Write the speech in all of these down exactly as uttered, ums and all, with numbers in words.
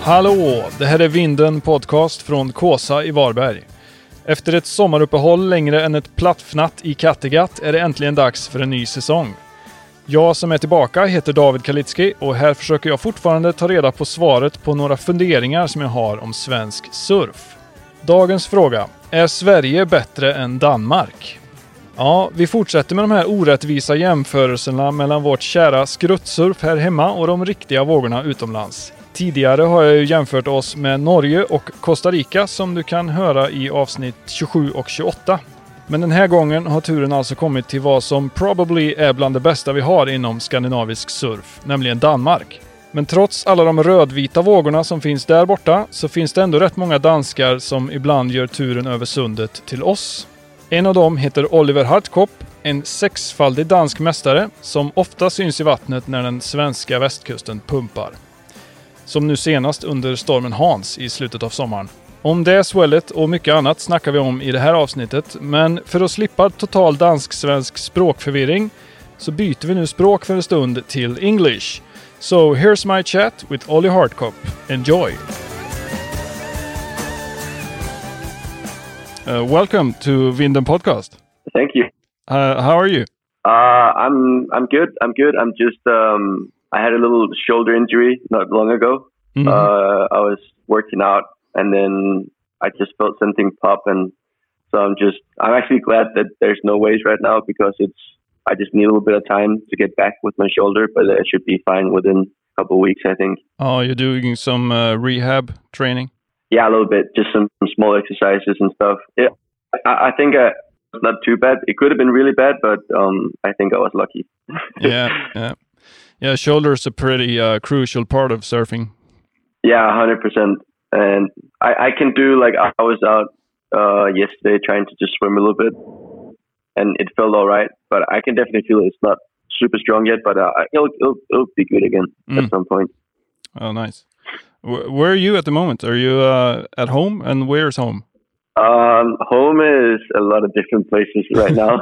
Hallå, det här är Vinden podcast från Kåsa i Varberg. Efter ett sommaruppehåll längre än ett plattfnatt i Kattegatt är det äntligen dags för en ny säsong. Jag som är tillbaka heter David Kalitski och här försöker jag fortfarande ta reda på svaret på några funderingar som jag har om svensk surf. Dagens fråga: är Sverige bättre än Danmark? Ja, vi fortsätter med de här orättvisa jämförelserna mellan vårt kära skruttsurf här hemma och de riktiga vågorna utomlands. Tidigare har jag ju jämfört oss med Norge och Costa Rica som du kan höra i avsnitt tjugosju och tjugoåtta. Men den här gången har turen alltså kommit till vad som probably är bland det bästa vi har inom skandinavisk surf, nämligen Danmark. Men trots alla de rödvita vågorna som finns där borta så finns det ändå rätt många danskar som ibland gör turen över sundet till oss. En av dem heter Oliver Hartkopp, en sexfaldig dansk mästare som ofta syns i vattnet när den svenska västkusten pumpar. Som nu senast under stormen Hans i slutet av sommaren. Om det swellet och mycket annat snackar vi om i det här avsnittet, men för att slippa total dansk-svensk språkförvirring så byter vi nu språk för en stund till English. So here's my chat with Ollie Hartkopp. Enjoy! Uh, welcome to Vinden podcast. Thank you. Uh, how are you? Uh, I'm I'm good. I'm good. I'm just um, I had a little shoulder injury not long ago. Mm-hmm. Uh, I was working out and then I just felt something pop, and so I'm just I'm actually glad that there's no waves right now because it's I just need a little bit of time to get back with my shoulder, but it should be fine within a couple of weeks, I think. Oh, you're doing some uh, rehab training? Yeah, a little bit, just some, some small exercises and stuff. Yeah, I, I think uh, it's not too bad. It could have been really bad, but um, I think I was lucky. yeah, yeah, yeah. Shoulder is a pretty uh, crucial part of surfing. Yeah, one hundred percent. And I, I can do, like, I was out uh, yesterday trying to just swim a little bit, and it felt all right. But I can definitely feel it's not super strong yet, but uh, it'll, it'll, it'll be good again mm. at some point. Oh, nice. Where are you at the moment? Are you uh, at home, and where's home? Um, home is a lot of different places right now,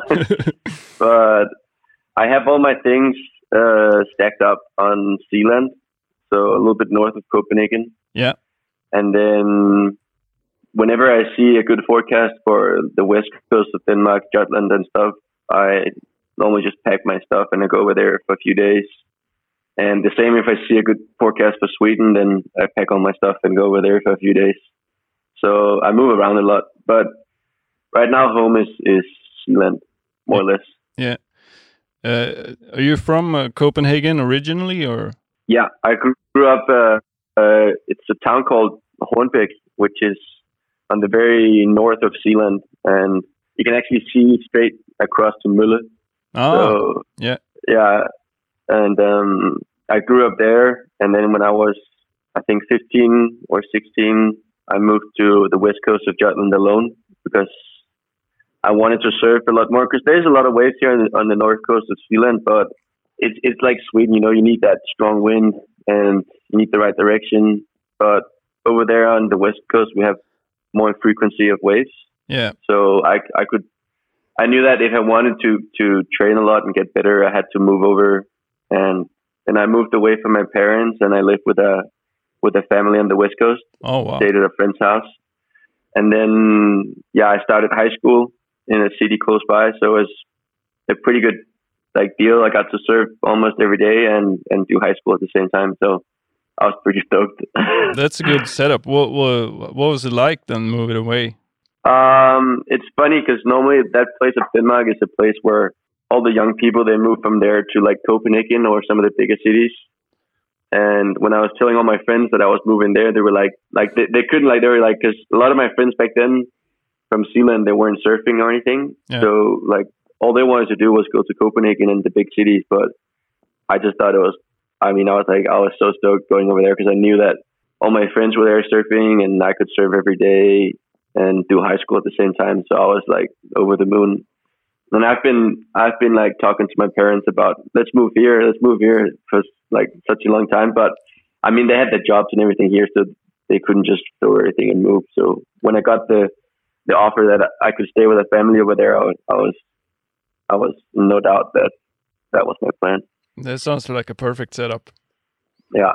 but I have all my things uh, stacked up on Sealand, so a little bit north of Copenhagen. Yeah. And then whenever I see a good forecast for the west coast of Denmark, Jutland and stuff, I normally just pack my stuff and I go over there for a few days. And the same if I see a good forecast for Sweden, then I pack all my stuff and go over there for a few days. So I move around a lot. But right now home is, is Sealand, more or less. Yeah. Uh, are you from uh, Copenhagen originally, or? Yeah, I grew up, uh, uh, it's a town called Hornbæk, which is on the very north of Sealand. And you can actually see straight across to Mølle. Oh, so, yeah. Yeah. And um, I grew up there, and then when I was, I think, fifteen or sixteen, I moved to the west coast of Jutland alone because I wanted to surf a lot more. Because there's a lot of waves here on the, on the north coast of Sealand, but it's it's like Sweden, you know, you need that strong wind and you need the right direction. But over there on the west coast, we have more frequency of waves. Yeah. So I I could, I knew that if I wanted to to train a lot and get better, I had to move over. And then I moved away from my parents, and I lived with a with a family on the West Coast. Oh, wow. Stayed at a friend's house. And then, yeah, I started high school in a city close by, so it was a pretty good like deal. I got to surf almost every day and, and do high school at the same time, so I was pretty stoked. That's a good setup. What, what, what was it like then moving away? Um, it's funny because normally that place of Denmark is a place where all the young people, they move from there to like Copenhagen or some of the bigger cities. And when I was telling all my friends that I was moving there, they were like, like they, they couldn't like, they were like, cause a lot of my friends back then from Sealand, they weren't surfing or anything. Yeah. So like all they wanted to do was go to Copenhagen and the big cities. But I just thought it was, I mean, I was like, I was so stoked going over there because I knew that all my friends were there surfing and I could surf every day and do high school at the same time. So I was like over the moon. And I've been, I've been like talking to my parents about, let's move here, let's move here for like such a long time. But I mean, they had their jobs and everything here, so they couldn't just throw everything and move. So when I got the, the offer that I could stay with a family over there, I was, I was, I was no doubt that that was my plan. That sounds like a perfect setup. Yeah.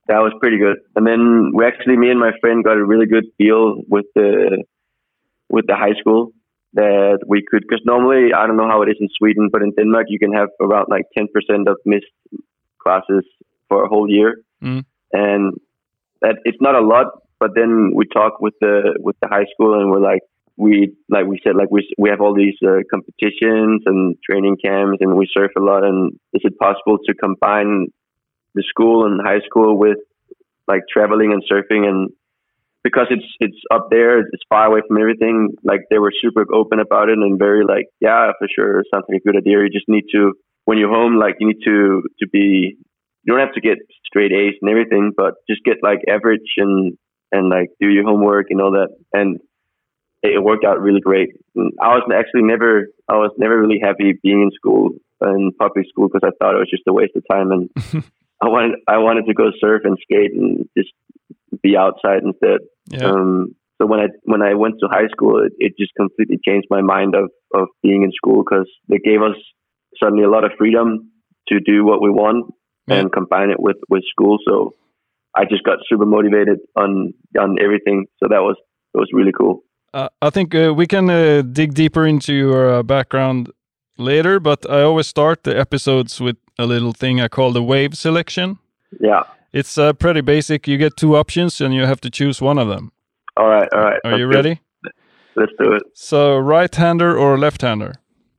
that was pretty good. And then we actually, me and my friend got a really good deal with the with the high school that we could, because normally, I don't know how it is in Sweden, but in Denmark, you can have around like ten percent of missed classes for a whole year. Mm. And that it's not a lot, but then we talked with the with the high school and we're like, we like we said, like we we have all these uh, competitions and training camps and we surf a lot. And is it possible to combine the school and high school with like traveling and surfing? And because it's it's up there, it's far away from everything. Like they were super open about it and very like, yeah, for sure, sounds like a good idea. You just need to, when you're home, like you need to to be. You don't have to get straight A's and everything, but just get like average and and like do your homework and all that. And it worked out really great. And I was actually never, I was never really happy being in school, in public school, because I thought it was just a waste of time. And I wanted, I wanted to go surf and skate and just be outside instead. Yeah. Um, so when I when I went to high school, it, it just completely changed my mind of of being in school, because they gave us suddenly a lot of freedom to do what we want. Yeah. And combine it with, with school. So I just got super motivated on on everything. So that was it was really cool. Uh, I think uh, we can uh, dig deeper into your uh, background later, but I always start the episodes with a little thing I call the wave selection. Yeah. It's uh, pretty basic. You get two options and you have to choose one of them. All right, all right. Are Let's you do ready? It. Let's do it. So right-hander or left-hander?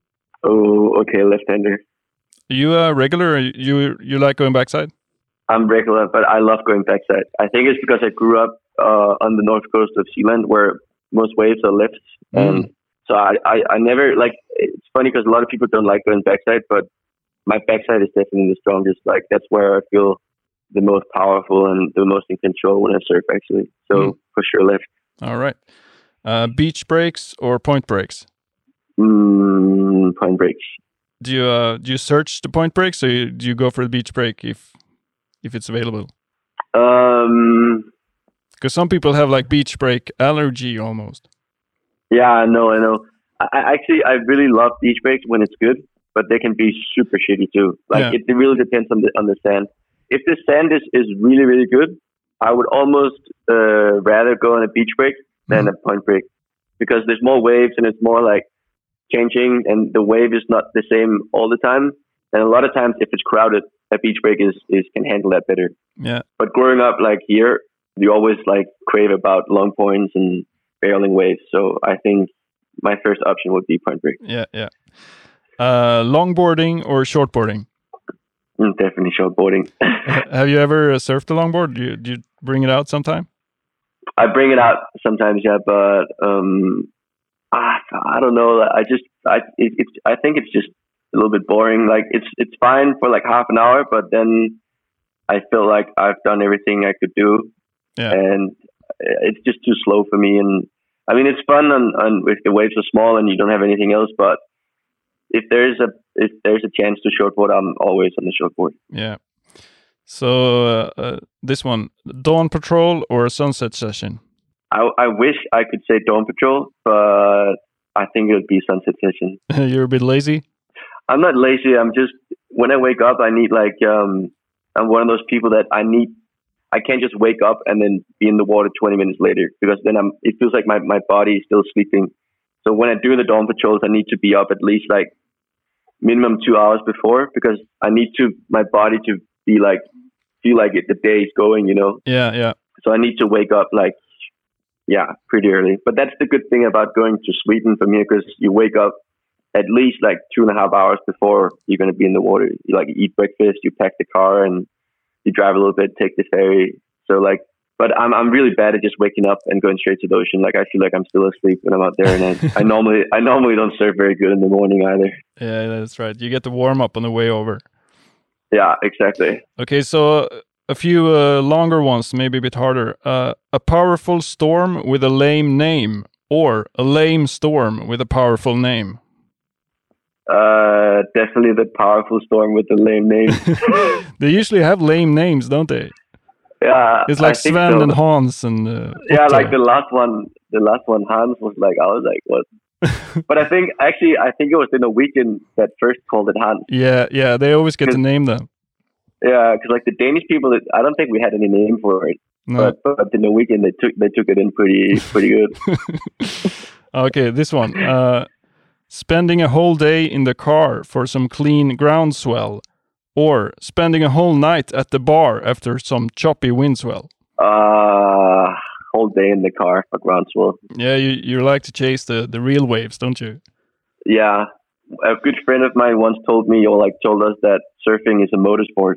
Oh, okay, left-hander. You a uh, regular? Or you you like going backside? I'm regular, but I love going backside. I think it's because I grew up uh, on the north coast of Zealand, where most waves are left, mm. and so I, I, I never like. It's funny because a lot of people don't like going backside, but my backside is definitely the strongest. Like that's where I feel the most powerful and the most in control when I surf. Actually, so mm. for sure left. All right. Uh, beach breaks or point breaks? Mm, point breaks. Do you uh, do you search the point breaks, or you, do you go for the beach break if if it's available? Um, because some people have like beach break allergy almost. Yeah, I know, I know. I, I actually I really love beach breaks when it's good, but they can be super shitty too. Like yeah. it, it really depends on the on the sand. If the sand is, is really really good, I would almost uh, rather go on a beach break than mm-hmm. a point break, because there's more waves and it's more like changing, and the wave is not the same all the time. And a lot of times, if it's crowded, a beach break is, is can handle that better. Yeah. But growing up like here, you always like crave about long points and barreling waves. So I think my first option would be point break. Yeah, yeah. Uh, longboarding or shortboarding? Mm, definitely shortboarding. Have you ever uh, surfed a longboard? Do you, do you bring it out sometime? I bring it out sometimes, yeah, but um. I, I don't know. I just, I, it, it's, I think it's just a little bit boring. Like it's, it's fine for like half an hour, but then I feel like I've done everything I could do, yeah. and it's just too slow for me. And I mean, it's fun on, on if the waves are small and you don't have anything else. But if there's a, if there's a chance to shortboard, I'm always on the shortboard. Yeah. So uh, uh, this one, dawn patrol or a sunset session? I, I wish I could say dawn patrol, but I think it would be sunset session. You're a bit lazy? I'm not lazy. I'm just, when I wake up, I need like, um, I'm one of those people that I need, I can't just wake up and then be in the water twenty minutes later, because then I'm, it feels like my, my body is still sleeping. So when I do the dawn patrols, I need to be up at least like minimum two hours before, because I need to, my body to be like, feel like it, the day is going, you know? Yeah, yeah. So I need to wake up like, yeah, pretty early. But that's the good thing about going to Sweden for me, because you wake up at least like two and a half hours before you're going to be in the water. You like eat breakfast, you pack the car, and you drive a little bit, take the ferry. So like, but I'm I'm really bad at just waking up and going straight to the ocean. Like I feel like I'm still asleep when I'm out there, and I, I normally I normally don't surf very good in the morning either. Yeah, that's right. You get the warm up on the way over. Yeah, exactly. Okay, so a few uh, longer ones, maybe a bit harder. Uh, a powerful storm with a lame name, or a lame storm with a powerful name? Uh, definitely the powerful storm with the lame name. They usually have lame names, don't they? Yeah, it's like Sven so. and Hans and. Uh, yeah, like the last one. The last one, Hans, was like, I was like, what? But I think actually, I think it was the Norwegian that first called it Hans. Yeah, yeah, they always get to name them. Yeah, because like the Danish people, I don't think we had any name for it. No. But, but the Norwegian, they took they took it in pretty pretty good. Okay, this one. Uh, spending a whole day in the car for some clean groundswell, or spending a whole night at the bar after some choppy windswell. Uh, whole day in the car for groundswell. Yeah, you you like to chase the, the real waves, don't you? Yeah, a good friend of mine once told me, or like told us that surfing is a motorsport.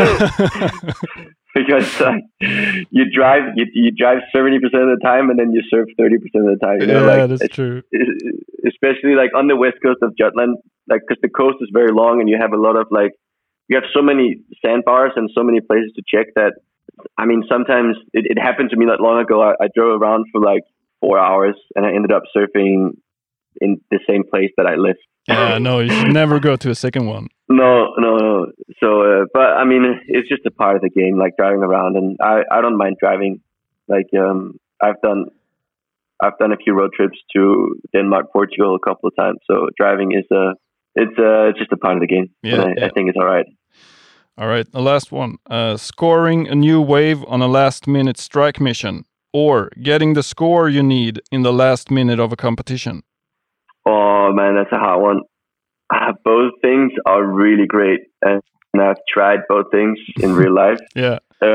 Because uh, you drive, you, you drive seventy percent of the time, and then you surf thirty percent of the time. You know, yeah, like, that's true. Especially like on the west coast of Jutland, like because the coast is very long, and you have a lot of like, you have so many sandbars and so many places to check that. I mean, sometimes it, it happened to me not long ago. I, I drove around for like four hours, and I ended up surfing in the same place that I lived. Yeah, no, you should never go to a second one. No, no, no. So, uh, but I mean, it's just a part of the game, like driving around, and I, I don't mind driving. Like, um, I've done, I've done a few road trips to Denmark, Portugal a couple of times. So driving is a, it's uh, just a part of the game. Yeah, I, yeah. I think it's all right. All right, the last one. Uh, scoring a new wave on a last-minute strike mission, or getting the score you need in the last minute of a competition. Oh man, that's a hard one. Uh, both things are really great, and I've tried both things in real life. Yeah.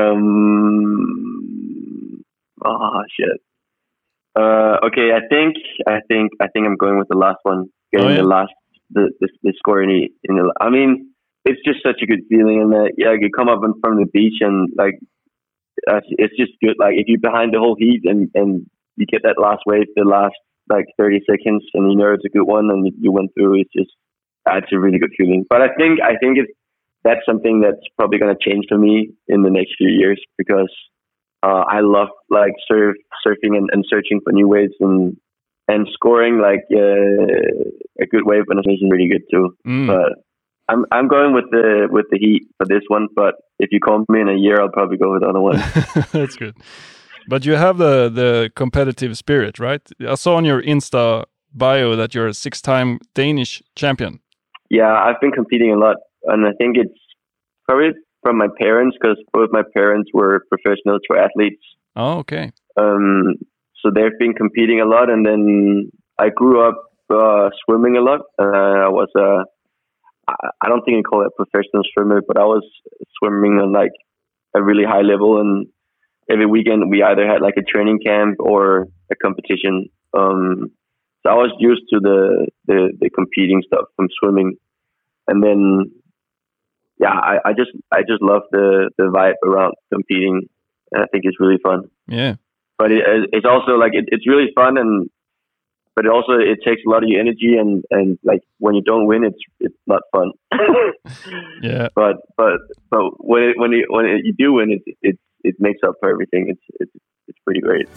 Um. Oh shit. Uh. Okay. I think. I think. I think I'm going with the last one. Getting Oh, yeah? the last. The, the the score in the in the. I mean, it's just such a good feeling, and that yeah, you come up from the beach and like, uh, it's just good. Like if you're behind the whole heat and and you get that last wave, the last like thirty seconds, and you know it's a good one, and you went through. It's just. It's a really good feeling. But I think I think it's that's something that's probably going to change for me in the next few years because uh, I love like surf surfing and, and searching for new waves and and scoring like uh, a good wave when it's really good too. Mm. But I'm I'm going with the with the heat for this one. But if you call me in a year, I'll probably go with the other one. That's good. But you have the the competitive spirit, right? I saw on your Insta bio that you're a six-time Danish champion. Yeah, I've been competing a lot, and I think it's probably from my parents because both my parents were professional triathletes. Oh, okay. Um, so they've been competing a lot, and then I grew up uh, swimming a lot. Uh, I was a, I don't think you call it a professional swimmer, but I was swimming on like a really high level, and every weekend we either had like a training camp or a competition. Um, So I was used to the, the, the competing stuff from swimming, and then yeah, I, I just I just love the, the vibe around competing, and I think it's really fun. Yeah, but it, it's also like it, it's really fun, and but it also it takes a lot of your energy, and, and like when you don't win, it's it's not fun. Yeah, but but but when it, when it, when it, you do win, it it it makes up for everything. It's it's it's pretty great.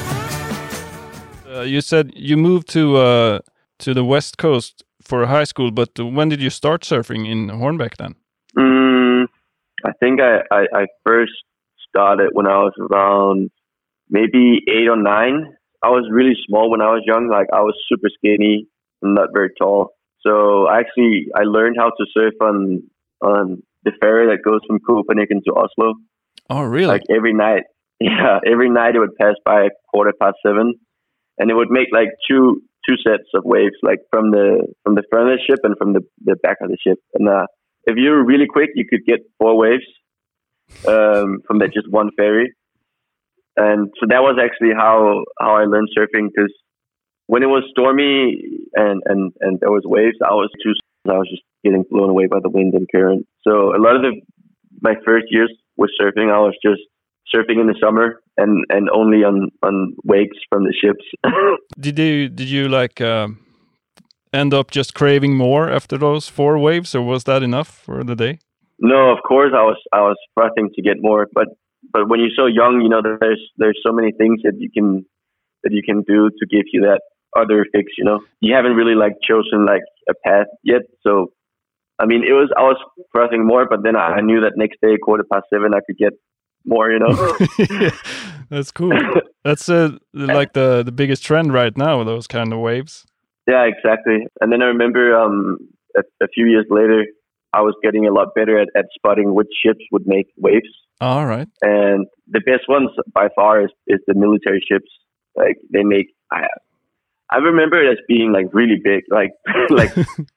Uh, you said you moved to uh, to the West Coast for high school, but when did you start surfing in Hornbæk then? Mm, I think I, I, I first started when I was around maybe eight or nine. I was really small when I was young. Like I was super skinny and not very tall. So actually, I learned how to surf on on the ferry that goes from Copenhagen to Oslo. Oh, really? Like every night. Yeah, every night it would pass by at quarter past seven. And it would make like two two sets of waves, like from the from the front of the ship and from the, the back of the ship. And uh, if you were really quick, you could get four waves um, from that just one ferry. And so that was actually how how I learned surfing. Because when it was stormy and, and, and there was waves, I was too. I was just getting blown away by the wind and current. So a lot of the my first years with surfing, I was just surfing in the summer and, and only on, on wakes from the ships. Did you did you like uh, end up just craving more after those four waves, or was that enough for the day? No, of course I was I was frothing to get more, but but when you're so young, you know, there's there's so many things that you can that you can do to give you that other fix. You know, you haven't really like chosen like a path yet, so. I mean, it was I was frothing more, but then I knew that next day, quarter past seven, I could get more, you know. That's cool. That's uh, like the the biggest trend right now, those kind of waves. Yeah, exactly. And then I remember um a, a few years later, I was getting a lot better at, at spotting which ships would make waves. All right. And the best ones by far is, is the military ships. Like they make, I, I remember it as being like really big. Like, like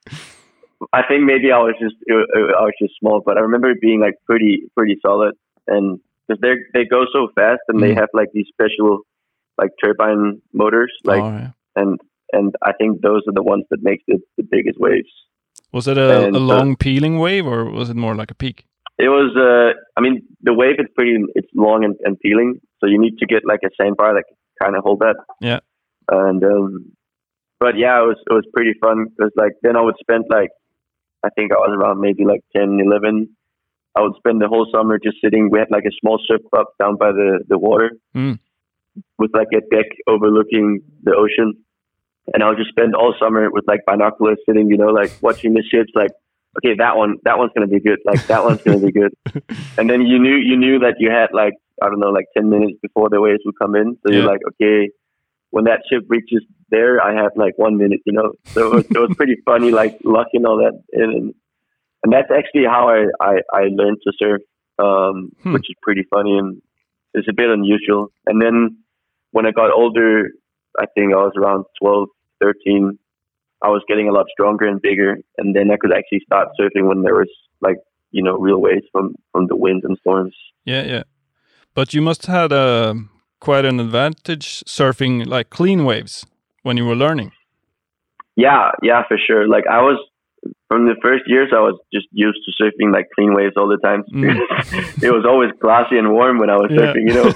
I think maybe I was just, I was just small, but I remember it being like pretty, pretty solid. And because they they go so fast, and mm. they have like these special like turbine motors, like, oh, yeah. and and I think those are the ones that make the, the biggest waves. Was it a, and, a long uh, peeling wave, or was it more like a peak? It was. Uh, I mean, the wave is pretty. It's long and, and peeling, so you need to get like a sandbar that kind of hold that. Yeah. And um, but yeah, it was it was pretty fun because like then I would spend like I think I was around maybe like ten, eleven. I would spend the whole summer just sitting. We had like a small surf club down by the, the water mm. with like a deck overlooking the ocean. And I would just spend all summer with like binoculars sitting, you know, like watching the ships, like, okay, that one, that one's going to be good. Like that one's going to be good. And then you knew, you knew that you had like, I don't know, like ten minutes before the waves would come in. So yeah. you're like, okay, when that ship reaches there, I have like one minute, you know? So it was, it was pretty funny, like locking all that in. And, And that's actually how I, I, I learned to surf, um, hmm. which is pretty funny and it's a bit unusual. And then when I got older, I think I was around twelve, thirteen, I was getting a lot stronger and bigger. And then I could actually start surfing when there was like, you know, real waves from, from the wind and storms. Yeah, yeah. But you must have had a, quite an advantage surfing like clean waves when you were learning. Yeah, yeah, for sure. Like I was, From the first years, I was just used to surfing like clean waves all the time. Mm. It was always glassy and warm when I was yeah. surfing, you know.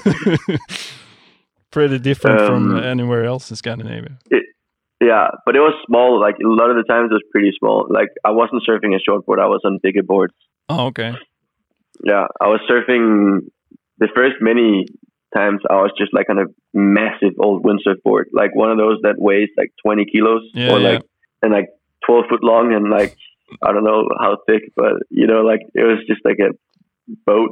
Pretty different um, from anywhere else in Scandinavia. It, yeah, but it was small. Like a lot of the times, it was pretty small. Like I wasn't surfing a shortboard; I was on bigger boards. Oh, okay. Yeah, I was surfing the first many times. I was just like on a massive old windsurf board, like one of those that weighs like twenty kilos, yeah, or yeah. like and like. twelve foot long and like I don't know how thick, but you know, like it was just like a boat.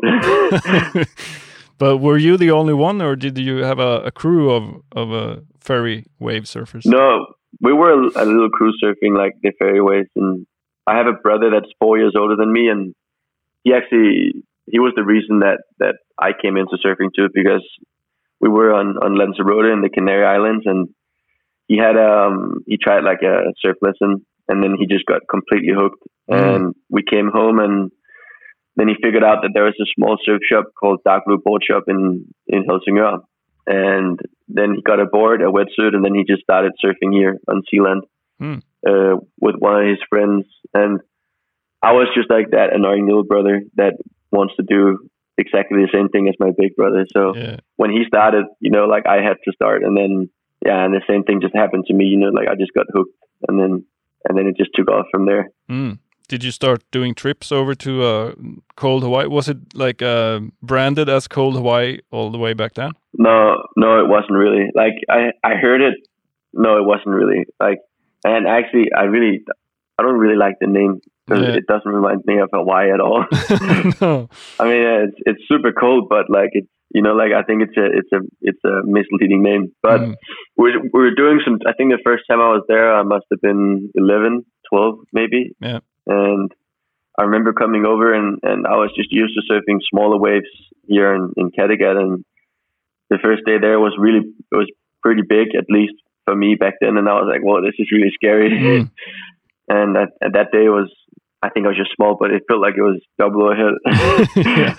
But were you the only one, or did you have a, a crew of of uh, ferry wave surfers? No, we were a, a little crew surfing like the ferry waves, and I have a brother that's four years older than me, and he actually he was the reason that that I came into surfing too, because we were on on Lanzarote in the Canary Islands, and he had um he tried like a surf lesson. And then he just got completely hooked. Mm. And we came home, and then he figured out that there was a small surf shop called Dark Blue Board Shop in, in Helsingør. And then he got a board, a wetsuit, and then he just started surfing here on Sealand mm. uh, with one of his friends. And I was just like that annoying little brother that wants to do exactly the same thing as my big brother. So yeah. when he started, you know, like I had to start. And then, yeah, and the same thing just happened to me, you know, like I just got hooked. And then And then it just took off from there. Mm. Did you start doing trips over to uh, cold Hawaii? Was it like uh, branded as cold Hawaii all the way back then? No, no, it wasn't really. Like I, I heard it. No, it wasn't really. Like, and actually, I really, I don't really like the name because yeah. it doesn't remind me of Hawaii at all. No. I mean, it's it's super cold, but like it's you know, like I think it's a it's a it's a misleading name. But mm. we're we're doing some. I think the first time I was there, I must have been eleven, twelve, maybe. Yeah. And I remember coming over, and, and I was just used to surfing smaller waves here in, in Kattegat. And the first day there was really it was pretty big, at least for me back then. And I was like, "Whoa, this is really scary." Mm. And that and that day was, I think I was just small, but it felt like it was double ahead. Yeah.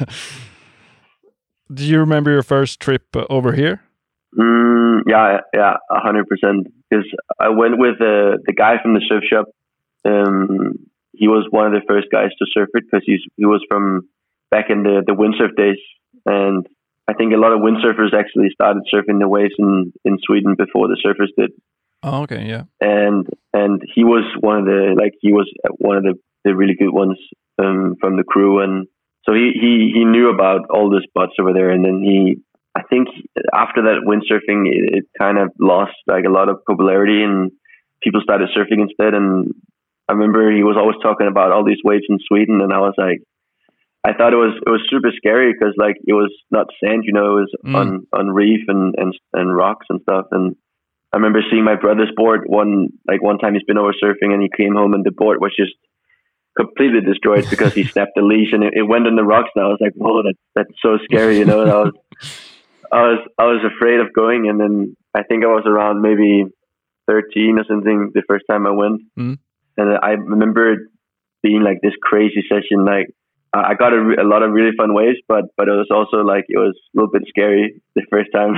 Do you remember your first trip uh, over here? Mm, yeah, yeah, a hundred percent. Because I went with uh, the guy from the surf shop. Um, he was one of the first guys to surf it because he's he was from back in the, the windsurf days, and I think a lot of windsurfers actually started surfing the waves in, in Sweden before the surfers did. Oh, okay, yeah. And and he was one of the like he was one of the, the really good ones um, from the crew, and so he, he he knew about all the spots over there. And then he, I think after that windsurfing, it, it kind of lost like a lot of popularity, and people started surfing instead. And I remember he was always talking about all these waves in Sweden, and I was like, I thought it was it was super scary because like it was not sand, you know, it was mm. on, on reef and, and and rocks and stuff. And I remember seeing my brother's board one like one time he's been over surfing, and he came home and the board was just completely destroyed because he snapped the leash and it, it went on the rocks. And I was like, whoa, that, that's so scary, you know. And I was, I was, I was afraid of going. And then I think I was around maybe thirteen or something the first time I went, mm. and I remember it being like this crazy session. Like I got a, re- a lot of really fun waves, but but it was also like it was a little bit scary the first time.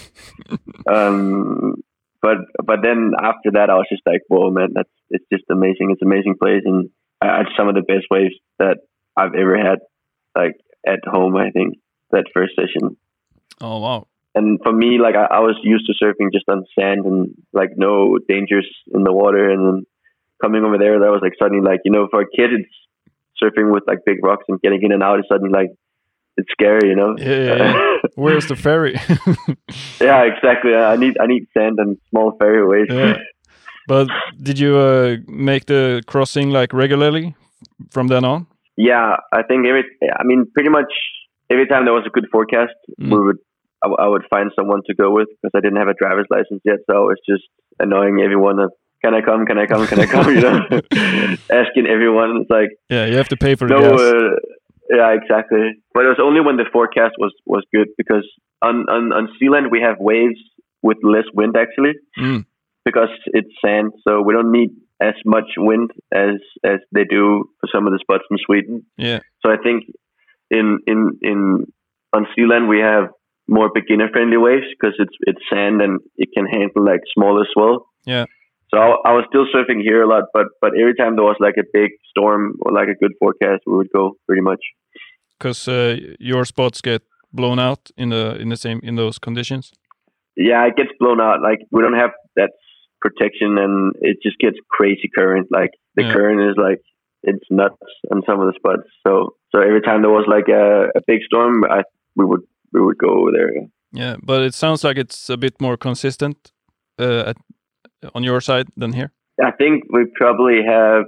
um, but but then after that, I was just like, whoa, man, that's it's just amazing. It's an amazing place, and I had some of the best waves that I've ever had, like at home. I think that first session. Oh wow. And for me, like I, I was used to surfing just on sand and like no dangers in the water. And then coming over there, that was like suddenly like, you know, for a kid, it's surfing with like big rocks and getting in and out is suddenly like, it's scary, you know? Yeah, yeah, yeah. Where's the ferry? Yeah, exactly. I need I need sand and small ferry waves. Yeah. But did you uh, make the crossing like regularly from then on? Yeah, I think every, I mean, pretty much every time there was a good forecast, Mm. we would, I, w- I would find someone to go with because I didn't have a driver's license yet. So I was just annoying everyone that, can I come? Can I come? Can I come? You know, asking everyone. It's like, Yeah, you have to pay for the no, gas. uh, yeah, exactly. But it was only when the forecast was, was good because on, on, on Sealand we have waves with less wind actually Mm. because it's sand. So we don't need as much wind as, as they do for some of the spots in Sweden. Yeah. So I think in, in, in, on Sealand we have more beginner friendly waves because it's, it's sand and it can handle like smaller swell. Yeah. So I, I was still surfing here a lot, but but every time there was like a big storm or like a good forecast, we would go pretty much. Because uh, your spots get blown out in the in the same in those conditions. Yeah, it gets blown out. Like we don't have that protection, and it just gets crazy current. Like the Yeah. current is like it's nuts on some of the spots. So so every time there was like a, a big storm, I we would we would go over there. Yeah, but it sounds like it's a bit more consistent uh, at, on your side than here. I think we probably have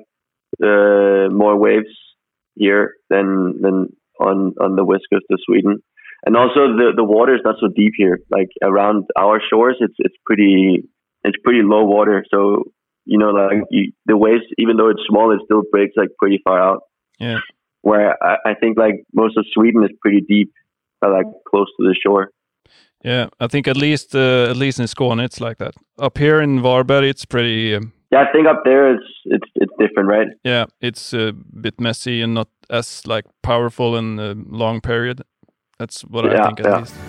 uh, more waves here than than on on the west coast of Sweden, and also the the water is not so deep here. Like around our shores, it's it's pretty it's pretty low water. So you know, like you, the waves, even though it's small, it still breaks like pretty far out. Yeah. Where I, I think like most of Sweden is pretty deep, uh, like close to the shore. Yeah, I think at least uh, at least in Skåne it's like that. Up here in Varberg, it's pretty. Um, Yeah, I think up there it's it's it's different, right? yeah, it's a bit messy and not as like powerful in a long period. That's what I Yeah, think at yeah. least.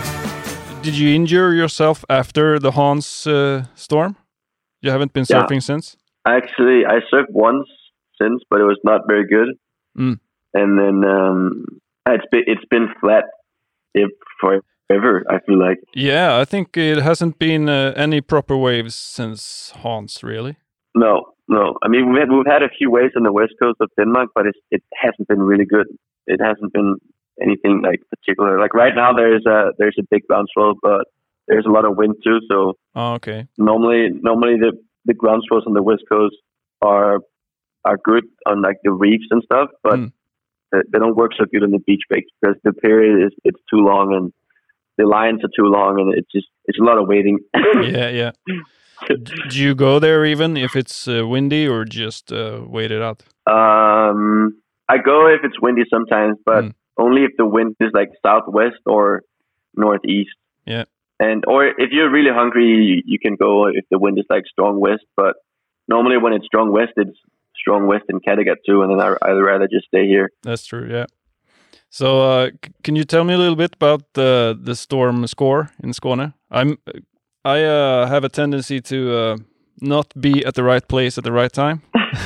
Did you injure yourself after the Hans uh, storm? You haven't been Yeah. surfing since? Actually, I surfed once since, but it was not very good. Mm. And then um, it's been it's been flat if forever. I feel like. Yeah, I think it hasn't been uh, any proper waves since Hans, really. No, no. I mean, we've had, we've had a few waves on the west coast of Denmark, but it's, it hasn't been really good. It hasn't been anything like particular. Like right now, there's a there's a big ground swell, but there's a lot of wind too. So Oh, okay. normally, normally the the ground swells on the west coast are are good on like the reefs and stuff, but Mm. they, they don't work so good on the beach breaks because the period is it's too long and the lines are too long, and it's just it's a lot of waiting. Yeah, yeah. D- Do you go there even if it's uh, windy, or just uh, wait it out? Um, I go if it's windy sometimes, but Mm. only if the wind is like southwest or northeast. Yeah. And or if you're really hungry, you, you can go if the wind is like strong west. But normally when it's strong west, it's strong west in Kattegat too, and then I, I'd rather just stay here. That's true. Yeah. So, uh, c- can you tell me a little bit about the the storm score in Skåne? I'm I uh, have a tendency to uh, not be at the right place at the right time,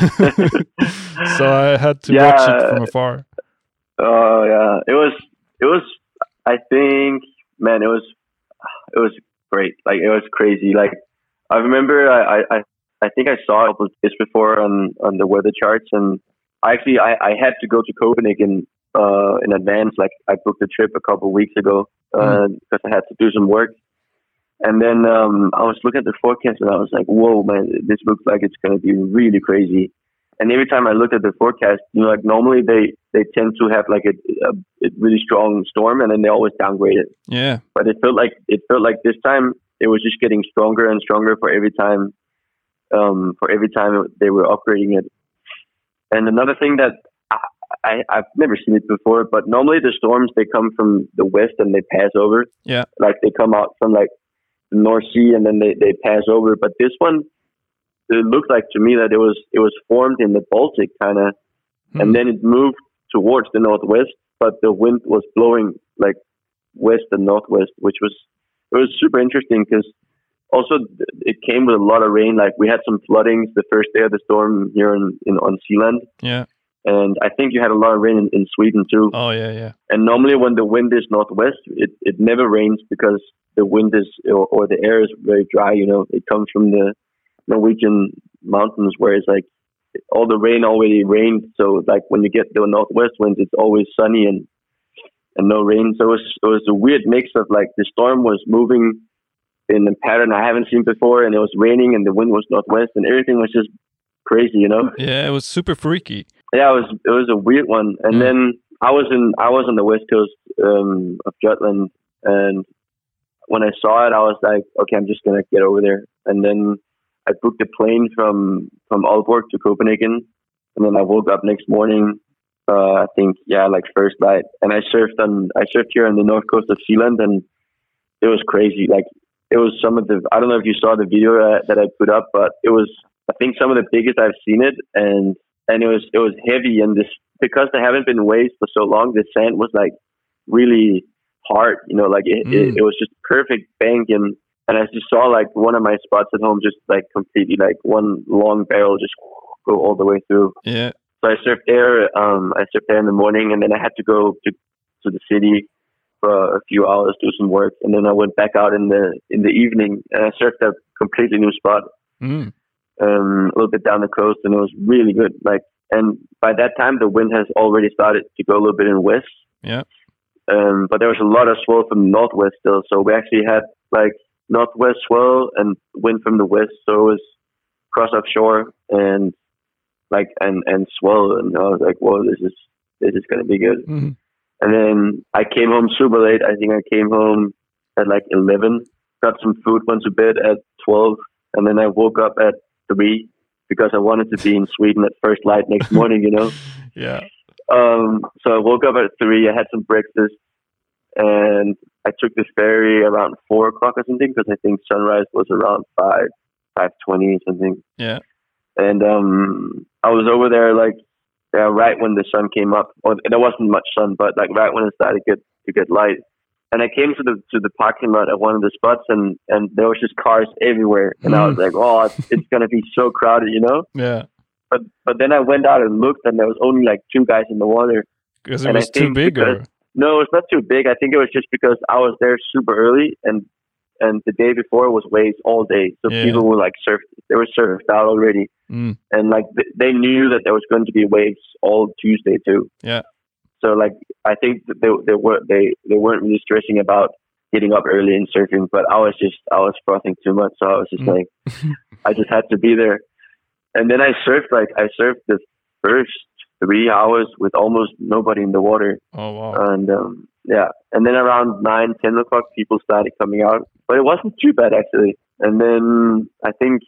so I had to watch it Yeah. from afar. Oh yeah, it was it was. I think, man, it was it was great. Like it was crazy. Like I remember, I I, I think I saw it a couple of days before on on the weather charts, and actually I, I had to go to Copenhagen uh, in advance. Like I booked a trip a couple of weeks ago uh, because I had to do some work. And then um, I was looking at the forecast and I was like, whoa, man, this looks like it's going to be really crazy. And every time I looked at the forecast, you know, like normally they, they tend to have like a, a, a really strong storm and then they always downgrade it. Yeah. But it felt like it felt like this time it was just getting stronger and stronger for every time, um, for every time they were upgrading it. And another thing that I, I, I've never seen it before, but normally the storms, they come from the west and they pass over. Yeah. Like they come out from like the North Sea and then they, they pass over. But this one, it looked like to me that it was it was formed in the Baltic kind of, mm. and then it moved towards the northwest, but the wind was blowing like west and northwest, which was it was super interesting because also it came with a lot of rain. Like we had some floodings the first day of the storm here in, in on Sealand. Yeah. And I think you had a lot of rain in, in Sweden too. Oh yeah, yeah. And normally when the wind is northwest, it, it never rains because the wind is or, or the air is very dry. You know, it comes from the Norwegian mountains where it's like all the rain already rained. So like when you get the northwest winds, it's always sunny and and no rain. So it was it was a weird mix of like the storm was moving in a pattern I haven't seen before, and it was raining, and the wind was northwest, and everything was just crazy, you know. Yeah, it was super freaky. Yeah, it was it was a weird one. And mm. then I was in I was on the west coast um, of Jutland, and when I saw it, I was like, okay, I'm just gonna get over there. And then I booked a plane from from Aalborg to Copenhagen, and then I woke up next morning. Uh, I think yeah, like first night, and I surfed on I surfed here on the north coast of Sealand, and it was crazy. Like it was some of the I don't know if you saw the video uh, that I put up, but it was I think some of the biggest I've seen it, and and it was it was heavy, and this because there haven't been waves for so long, the sand was like really hard, you know, like it, mm. it, it was just perfect bank, and and I just saw like one of my spots at home just like completely like one long barrel just go all the way through. Yeah. So I surfed there. Um, I surfed there in the morning, and then I had to go to to the city for a few hours, do some work, and then I went back out in the in the evening, and I surfed a completely new spot, mm. um, a little bit down the coast, and it was really good. Like, and by that time, the wind has already started to go a little bit in west. Yeah. Um, but there was a lot of swell from the northwest still, so we actually had like northwest swell and wind from the west, so it was cross offshore and like and and swell, and I was like, whoa, this is this is gonna be good. Mm-hmm. And then I came home super late. I think I came home at like eleven, got some food, went to bed at twelve, and then I woke up at three because I wanted to be in Sweden at first light next morning, you know. Yeah. Um, so I woke up at three, I had some breakfast, and I took this ferry around four o'clock or something, because I think sunrise was around five, five twenty or something. Yeah. And um, I was over there like yeah, right when the sun came up. Or there wasn't much sun, but like right when it started to get to get light. And I came to the to the parking lot at one of the spots, and, and there was just cars everywhere. And mm. I was like, oh, it's, it's gonna be so crowded, you know? Yeah. But but then I went out and looked, and there was only like two guys in the water. Because it was too big, because, or? No, it's not too big. I think it was just because I was there super early, and and the day before was waves all day, so yeah. people were like surfed. They were surfed out already, mm. and like th- they knew that there was going to be waves all Tuesday too. Yeah. So like I think that they they were they they weren't really stressing about getting up early and surfing, but I was just I was frothing too much, so I was just mm. like I just had to be there. And then I surfed, like, I surfed the first three hours with almost nobody in the water. Oh, wow. And, um, yeah. And then around nine, ten o'clock, people started coming out. But it wasn't too bad, actually. And then I think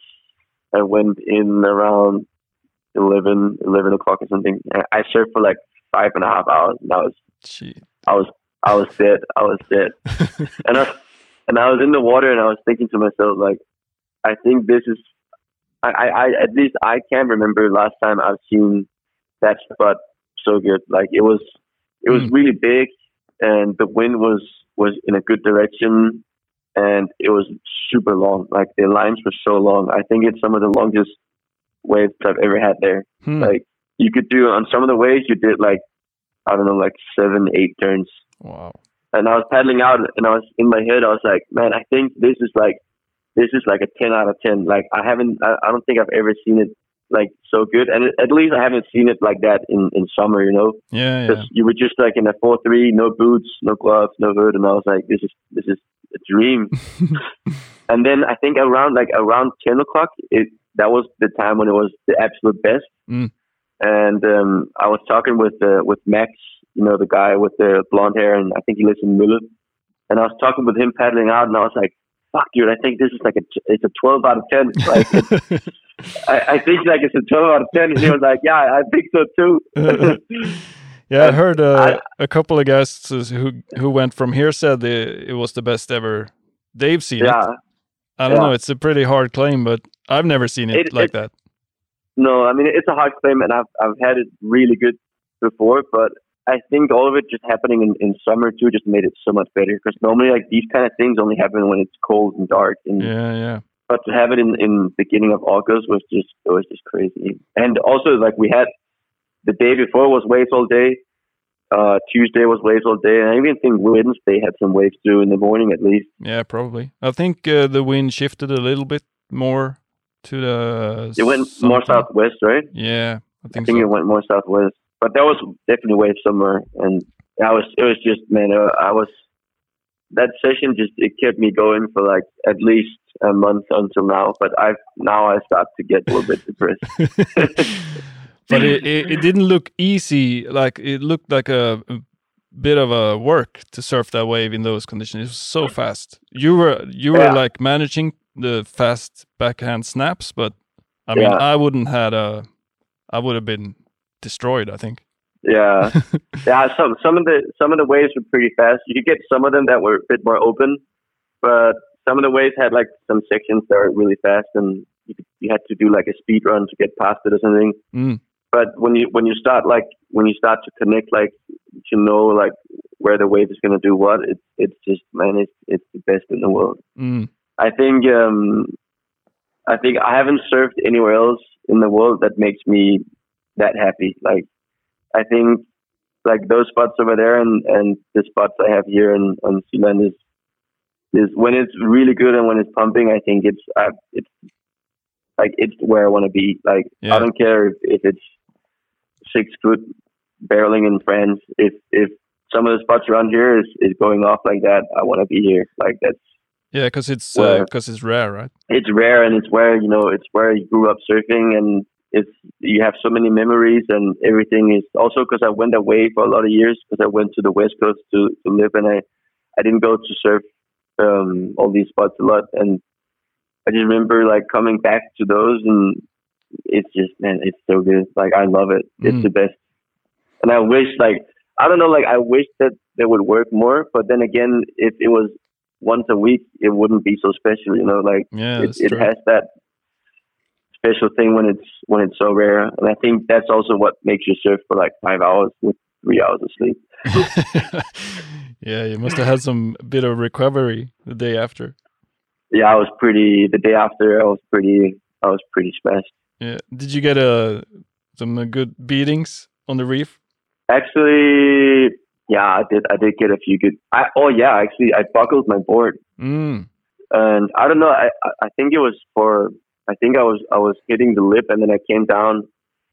I went in around eleven, eleven o'clock or something. I surfed for, like, five and a half hours. And I was, Gee. I was, I was dead. I was dead. and, I, and I was in the water, and I was thinking to myself, like, I think this is, I, I, at least I can't remember last time I've seen that spot so good. Like it was, it was mm. really big, and the wind was, was in a good direction, and it was super long. Like the lines were so long. I think it's some of the longest waves I've ever had there. Hmm. Like you could do on some of the waves, you did like, I don't know, like seven, eight turns. Wow. And I was paddling out, and I was in my head, I was like, man, I think this is like, This is like a ten out of ten. Like I haven't, I, I don't think I've ever seen it like so good. And it, at least I haven't seen it like that in, in summer, you know? Yeah, Because yeah. you were just like in a four three, no boots, no gloves, no hood. And I was like, this is, this is a dream. And then I think around like around ten o'clock, it, that was the time when it was the absolute best. Mm. And um, I was talking with, uh, with Max, you know, the guy with the blonde hair, and I think he lives in Mølle. And I was talking with him paddling out, and I was like, fuck, dude, I think this is like a, it's a twelve out of ten. Like, it's, I, I think like it's a twelve out of ten. And he was like, yeah, I think so too. Yeah, I heard uh, I, a couple of guys who who went from here said it, it was the best ever they've seen yeah, it. I don't yeah. know. It's a pretty hard claim, but I've never seen it, it like it, that. No, I mean, it's a hard claim, and I've I've had it really good before, but I think all of it just happening in, in summer too just made it so much better, because normally like these kind of things only happen when it's cold and dark. And, yeah, yeah. But to have it in in beginning of August was just it was just crazy. And also like we had the day before was waves all day. Uh, Tuesday was waves all day, and I even think Wednesday had some waves too in the morning at least. Yeah, probably. I think uh, the wind shifted a little bit more to the. It went something. more southwest, right? Yeah, I think. I think so. it went more southwest, but there was definitely waves somewhere, and I was it was just man, uh, I was that session just it kept me going for like at least a month until now. But I now I start to get a little bit depressed. But it, it, it didn't look easy. Like it looked like a, a bit of a work to surf that wave in those conditions. It was so fast. You were you were yeah. like managing the fast backhand snaps, but I mean, yeah. I wouldn't had a. I would have been destroyed, I think. Yeah, yeah. Some some of the some of the waves were pretty fast. You could get some of them that were a bit more open, but some of the waves had like some sections that were really fast, and you could, you had to do like a speed run to get past it or something. Mm. But when you when you start like when you start to connect, like to know like where the wave is going to do what, it's it's just man, it's it's the best in the world. Mm. I think um, I think I haven't surfed anywhere else in the world that makes me that happy. Like I think like those spots over there and, and the spots I have here in on Sealand is is when it's really good and when it's pumping. I think it's uh, it's like it's where I want to be. Like yeah. I don't care if, if it's six foot barreling in France. If if some of the spots around here is, is going off like that, I want to be here. Like that's yeah, because it's because uh, it's rare, right? It's rare, and it's where you know it's where you grew up surfing, and it's you have so many memories, and everything is also because I went away for a lot of years because I went to the West Coast to to live, and I I didn't go to surf um, all these spots a lot, and I just remember like coming back to those, and it's just man, it's so good. Like I love it. It's mm. the best, and I wish like I don't know, like I wish that they would work more, but then again, if it was once a week, it wouldn't be so special, you know. Like yeah, it, it has that special thing when it's when it's so rare, and I think that's also what makes you surf for like five hours with three hours of sleep. Yeah, you must have had some bit of recovery the day after. Yeah, I was pretty. The day after, I was pretty. I was pretty smashed. Yeah. Did you get a some uh, good beatings on the reef? Actually, yeah, I did. I did get a few good. I, oh yeah, actually, I buckled my board, mm. and I don't know. I I think it was for. I think I was I was hitting the lip, and then I came down,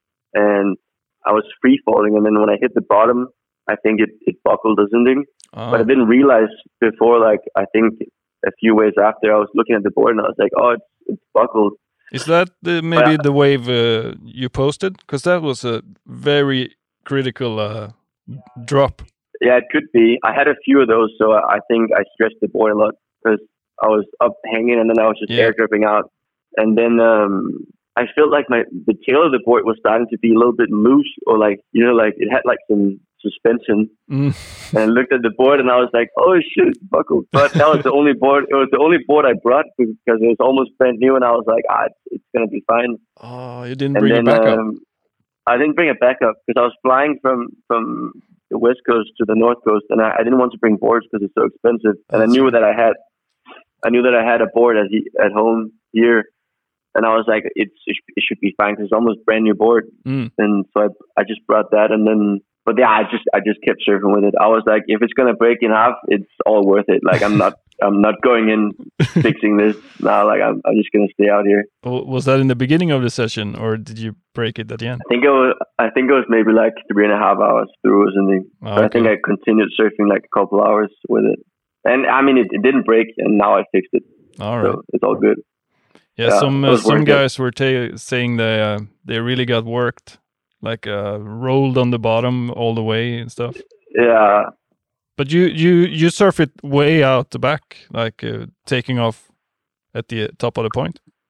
and I was free falling, and then when I hit the bottom, I think it, it buckled or something. Oh. But I didn't realize before. Like I think a few waves after, I was looking at the board, and I was like, "Oh, it's it's buckled." Is that the, maybe but, the wave uh, you posted? Because that was a very critical uh, drop. Yeah, it could be. I had a few of those, so I think I stressed the board a lot because I was up hanging, and then I was just yeah. air dripping out. And then um, I felt like my the tail of the board was starting to be a little bit loose, or like you know, like it had like some suspension. Mm. And I looked at the board, and I was like, "Oh shit, it's buckled." But that was the only board. It was the only board I brought because it was almost brand new, and I was like, "Ah, it's, it's gonna be fine." Oh, you didn't and bring then, it back um, up. I didn't bring it back up because I was flying from from the West Coast to the North Coast, and I, I didn't want to bring boards because it's so expensive. And That's I knew right. that I had, I knew that I had a board at at home here. And I was like, it's, it should be fine because it's almost brand new board. Mm. And so I, I just brought that, and then, but yeah, I just, I just kept surfing with it. I was like, if it's gonna break in half, it's all worth it. Like I'm not, I'm not going in fixing this now. Like I'm, I'm just gonna stay out here. Was that in the beginning of the session, or did you break it at the end? I think it was, I think it was maybe like three and a half hours through or something. Oh, so okay. I think I continued surfing like a couple hours with it, and I mean, it, it didn't break, and now I fixed it. All right, so it's all good. Yeah, yeah, some uh, some guys were ta- saying they uh, they really got worked, like uh, rolled on the bottom all the way and stuff. Yeah. But you you you surf it way out the back, like uh, taking off at the top of the point.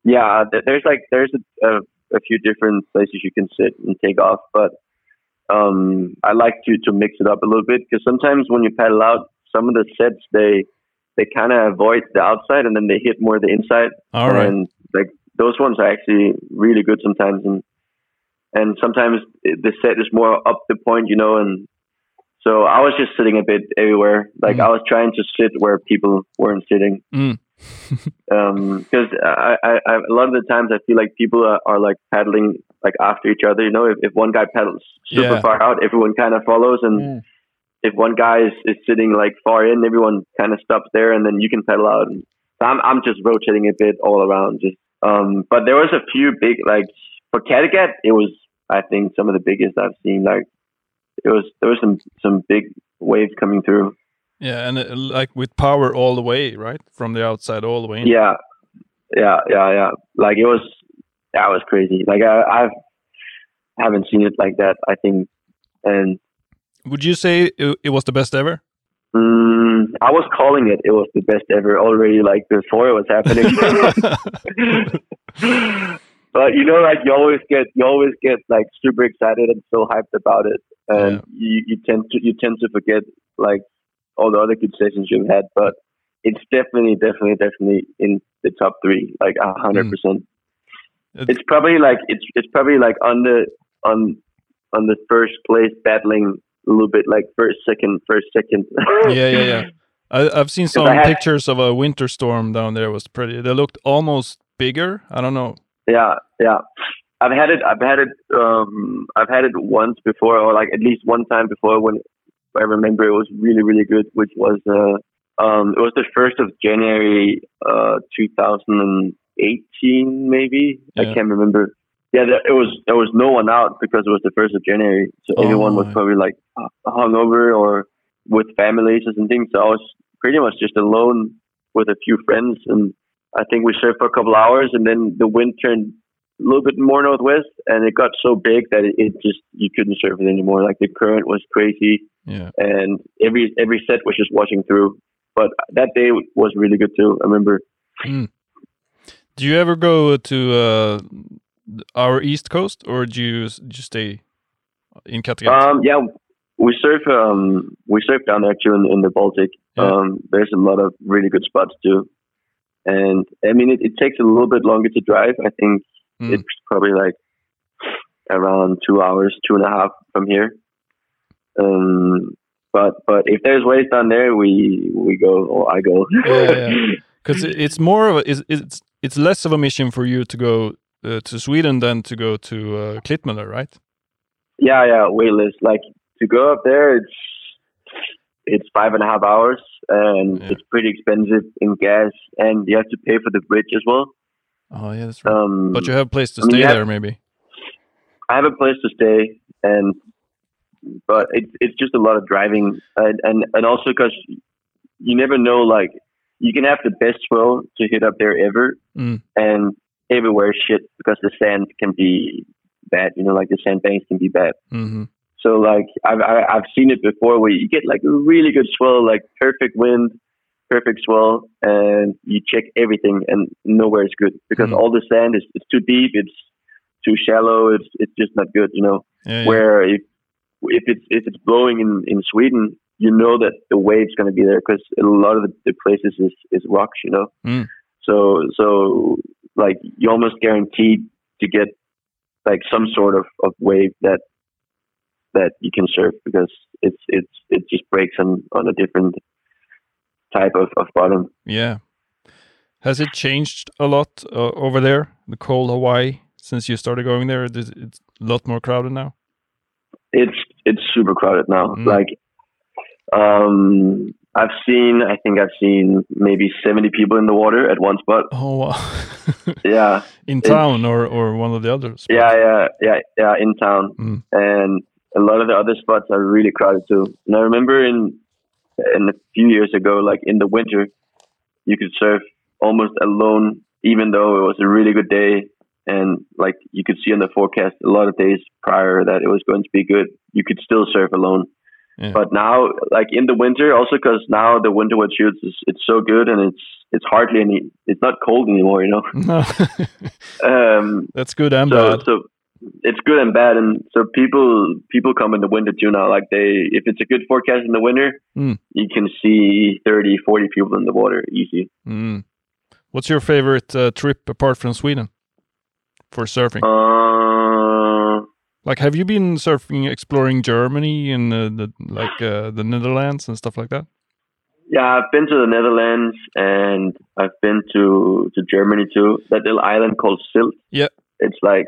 Yeah, th- there's like there's a, a, a few different places you can sit and take off, but um, I like to to mix it up a little bit because sometimes when you paddle out, some of the sets they they kind of avoid the outside and then they hit more the inside. All right. And like those ones are actually really good sometimes, and and sometimes the set is more up the point, you know, and so I was just sitting a bit everywhere. Like mm. I was trying to sit where people weren't sitting. Mm. um, because I, I, I, a lot of the times I feel like people are, are like paddling like after each other. You know, if, if one guy paddles super yeah. far out, everyone kind of follows, and mm. if one guy is, is sitting like far in, everyone kind of stops there, and then you can paddle out. And so I'm I'm just rotating a bit all around. Just um, but there was a few big like for Kattegat, it was I think some of the biggest I've seen. Like it was there was some some big waves coming through. Yeah, and uh, like with power all the way, right? From the outside all the way in. Yeah, yeah, yeah, yeah. Like it was, that was crazy. Like I, I've, haven't seen it like that. I think, and would you say it, it was the best ever? Um, I was calling it. It was the best ever already. Like before it was happening. But you know, like you always get, you always get like super excited and so hyped about it, and yeah. you, you tend to, you tend to forget like all the other good sessions you've had, but it's definitely, definitely, definitely in the top three, like a hundred percent. It's probably like it's it's probably like on the on on the first place battling a little bit, like first, second, first, second. yeah, yeah, yeah. I, I've seen some had, pictures of a winter storm down there. It was pretty. They looked almost bigger. I don't know. Yeah, yeah. I've had it. I've had it. Um, I've had it once before, or like at least one time before when. I remember it was really, really good, which was, uh, um, it was the first of January, uh, two thousand eighteen, maybe. Yeah. I can't remember. Yeah, there, it was, there was no one out because it was the first of January. So oh, everyone was probably like hungover or with families and things. So I was pretty much just alone with a few friends. And I think we surfed for a couple hours and then the wind turned a little bit more northwest and it got so big that it, it just, you couldn't surf it anymore. Like the current was crazy. Yeah. And every every set was just washing through. But that day was really good too, I remember. Mm. Do you ever go to uh, our East Coast or do you just stay in Kattegat? Um, yeah, we surf um, we surf down there too in, in the Baltic. Yeah. Um, there's a lot of really good spots too. And I mean, it, it takes a little bit longer to drive. I think mm. it's probably like around two hours, two and a half from here. Um, but but if there's waves down there, we we go or I go. Yeah, because yeah. it's more of a, it's it's it's less of a mission for you to go uh, to Sweden than to go to uh, Klittmøller, right? Yeah, yeah, way less. Like to go up there, it's it's five and a half hours, and yeah. it's pretty expensive in gas, and you have to pay for the bridge as well. Oh yeah, that's right. Um, but you have a place to I mean, stay have, there, maybe. I have a place to stay, and. But it's it's just a lot of driving, and and, and also because you never know, like you can have the best swell to hit up there ever, mm. and everywhere is shit because the sand can be bad. You know, like the sandbanks can be bad. Mm-hmm. So like I've I, I've seen it before where you get like a really good swell, like perfect wind, perfect swell, and you check everything and nowhere is good because mm. all the sand is it's too deep, it's too shallow, it's it's just not good. You know, yeah, where yeah. if If it's if it's blowing in, in Sweden, you know that the wave's going to be there because a lot of the, the places is, is rocks, you know. Mm. So so like you almost guaranteed to get like some sort of, of wave that that you can surf because it's it's it just breaks on, on a different type of, of bottom. Yeah. Has it changed a lot uh, over there, the cold Hawaii, since you started going there? Is it a lot more crowded now? It's it's super crowded now. Mm. Like, um, I've seen, I think I've seen maybe seventy people in the water at one spot. Oh wow! Yeah, in town or or one of the other spots? Yeah, yeah, yeah, yeah, in town, mm. and a lot of the other spots are really crowded too. And I remember in in a few years ago, like in the winter, you could surf almost alone, even though it was a really good day. And like you could see in the forecast a lot of days prior that it was going to be good. You could still surf alone. Yeah. But now, like in the winter, also because now the winter wood shoots is it's so good and it's it's hardly any. It's not cold anymore, you know. No. um, That's good and so bad. so it's good and bad, and so people people come in the winter too now. Like they, if it's a good forecast in the winter, Mm. you can see thirty, forty people in the water easy. Mm. What's your favorite uh, trip apart from Sweden for surfing? Uh, Like, have you been surfing, exploring Germany and uh, the like uh, the Netherlands and stuff like that? yeah, I've been to the Netherlands and I've been to to Germany too. That little island called Sylt. Yeah. It's like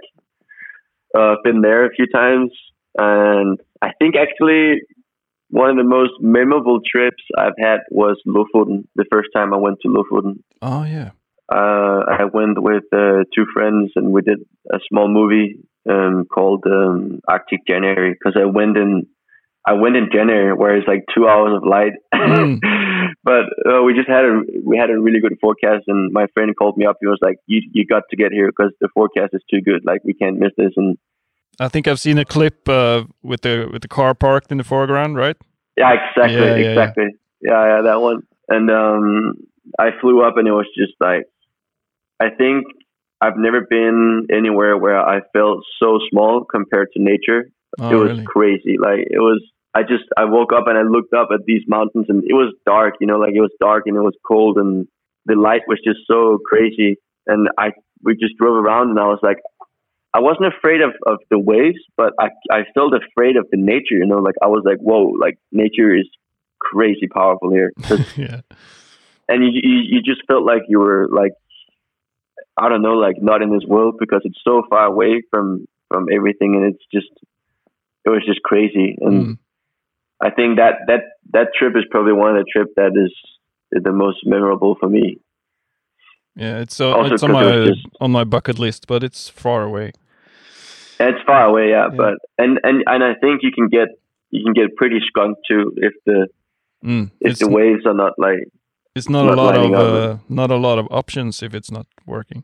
uh, I've been there a few times, and I think actually one of the most memorable trips I've had was Lofoten. The first time I went to Lofoten, Oh yeah. uh, I went with uh, two friends, and we did a small movie um, called um, Arctic January. Because I went in, I went in January, where it's like two hours of light. Mm. But uh, we just had a we had a really good forecast, and my friend called me up. He was like, "You you got to get here because the forecast is too good. Like we can't miss this." And I think I've seen a clip uh, with the with the car parked in the foreground, right? yeah, exactly, Yeah, yeah, exactly. Yeah. yeah, that one. And um, I flew up, and it was just like, I think I've never been anywhere where I felt so small compared to nature. Oh, it was really? crazy. Like it was. I just I woke up and I looked up at these mountains, and it was dark. You know, like it was dark and it was cold, and the light was just so crazy. And I we just drove around, and I was like, I wasn't afraid of, of the waves, but I I felt afraid of the nature. You know, like I was like, whoa, like nature is crazy powerful here. 'Cause- Yeah. and you, you you just felt like you were like, I don't know, like not in this world because it's so far away from from everything, and it's just it was just crazy. And Mm. I think that that that trip is probably one of the trip that is the most memorable for me. Yeah, it's uh, Also it's on 'cause it my was just- on my bucket list, but it's far away. It's far away, yeah, Yeah. but and, and and I think you can get you can get pretty skunked too if the Mm. if It's the waves are not like it's not, not a lot of lining up. uh, not a lot of options if it's not working.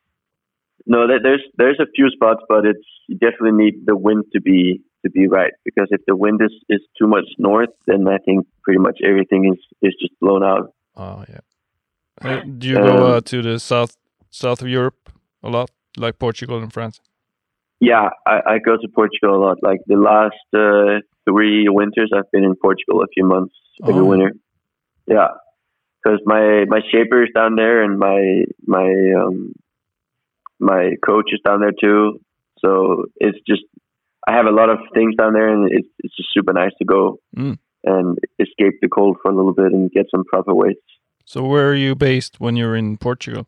no. there- There's there's a few spots, but it's you definitely need the wind to be to be right, because if the wind is, is too much north, then I think pretty much everything is, is just blown out. Oh yeah. Uh, do you go Um, uh, to the south south of Europe a lot, like Portugal and France? Yeah, I, I go to Portugal a lot. Like the last uh, three winters, I've been in Portugal a few months every Oh. winter. Yeah, because my my shaper is down there, and my my um, my coach is down there too. So it's just I have a lot of things down there, and it's it's just super nice to go Mm. and escape the cold for a little bit and get some proper weights. So where are you based when you're in Portugal?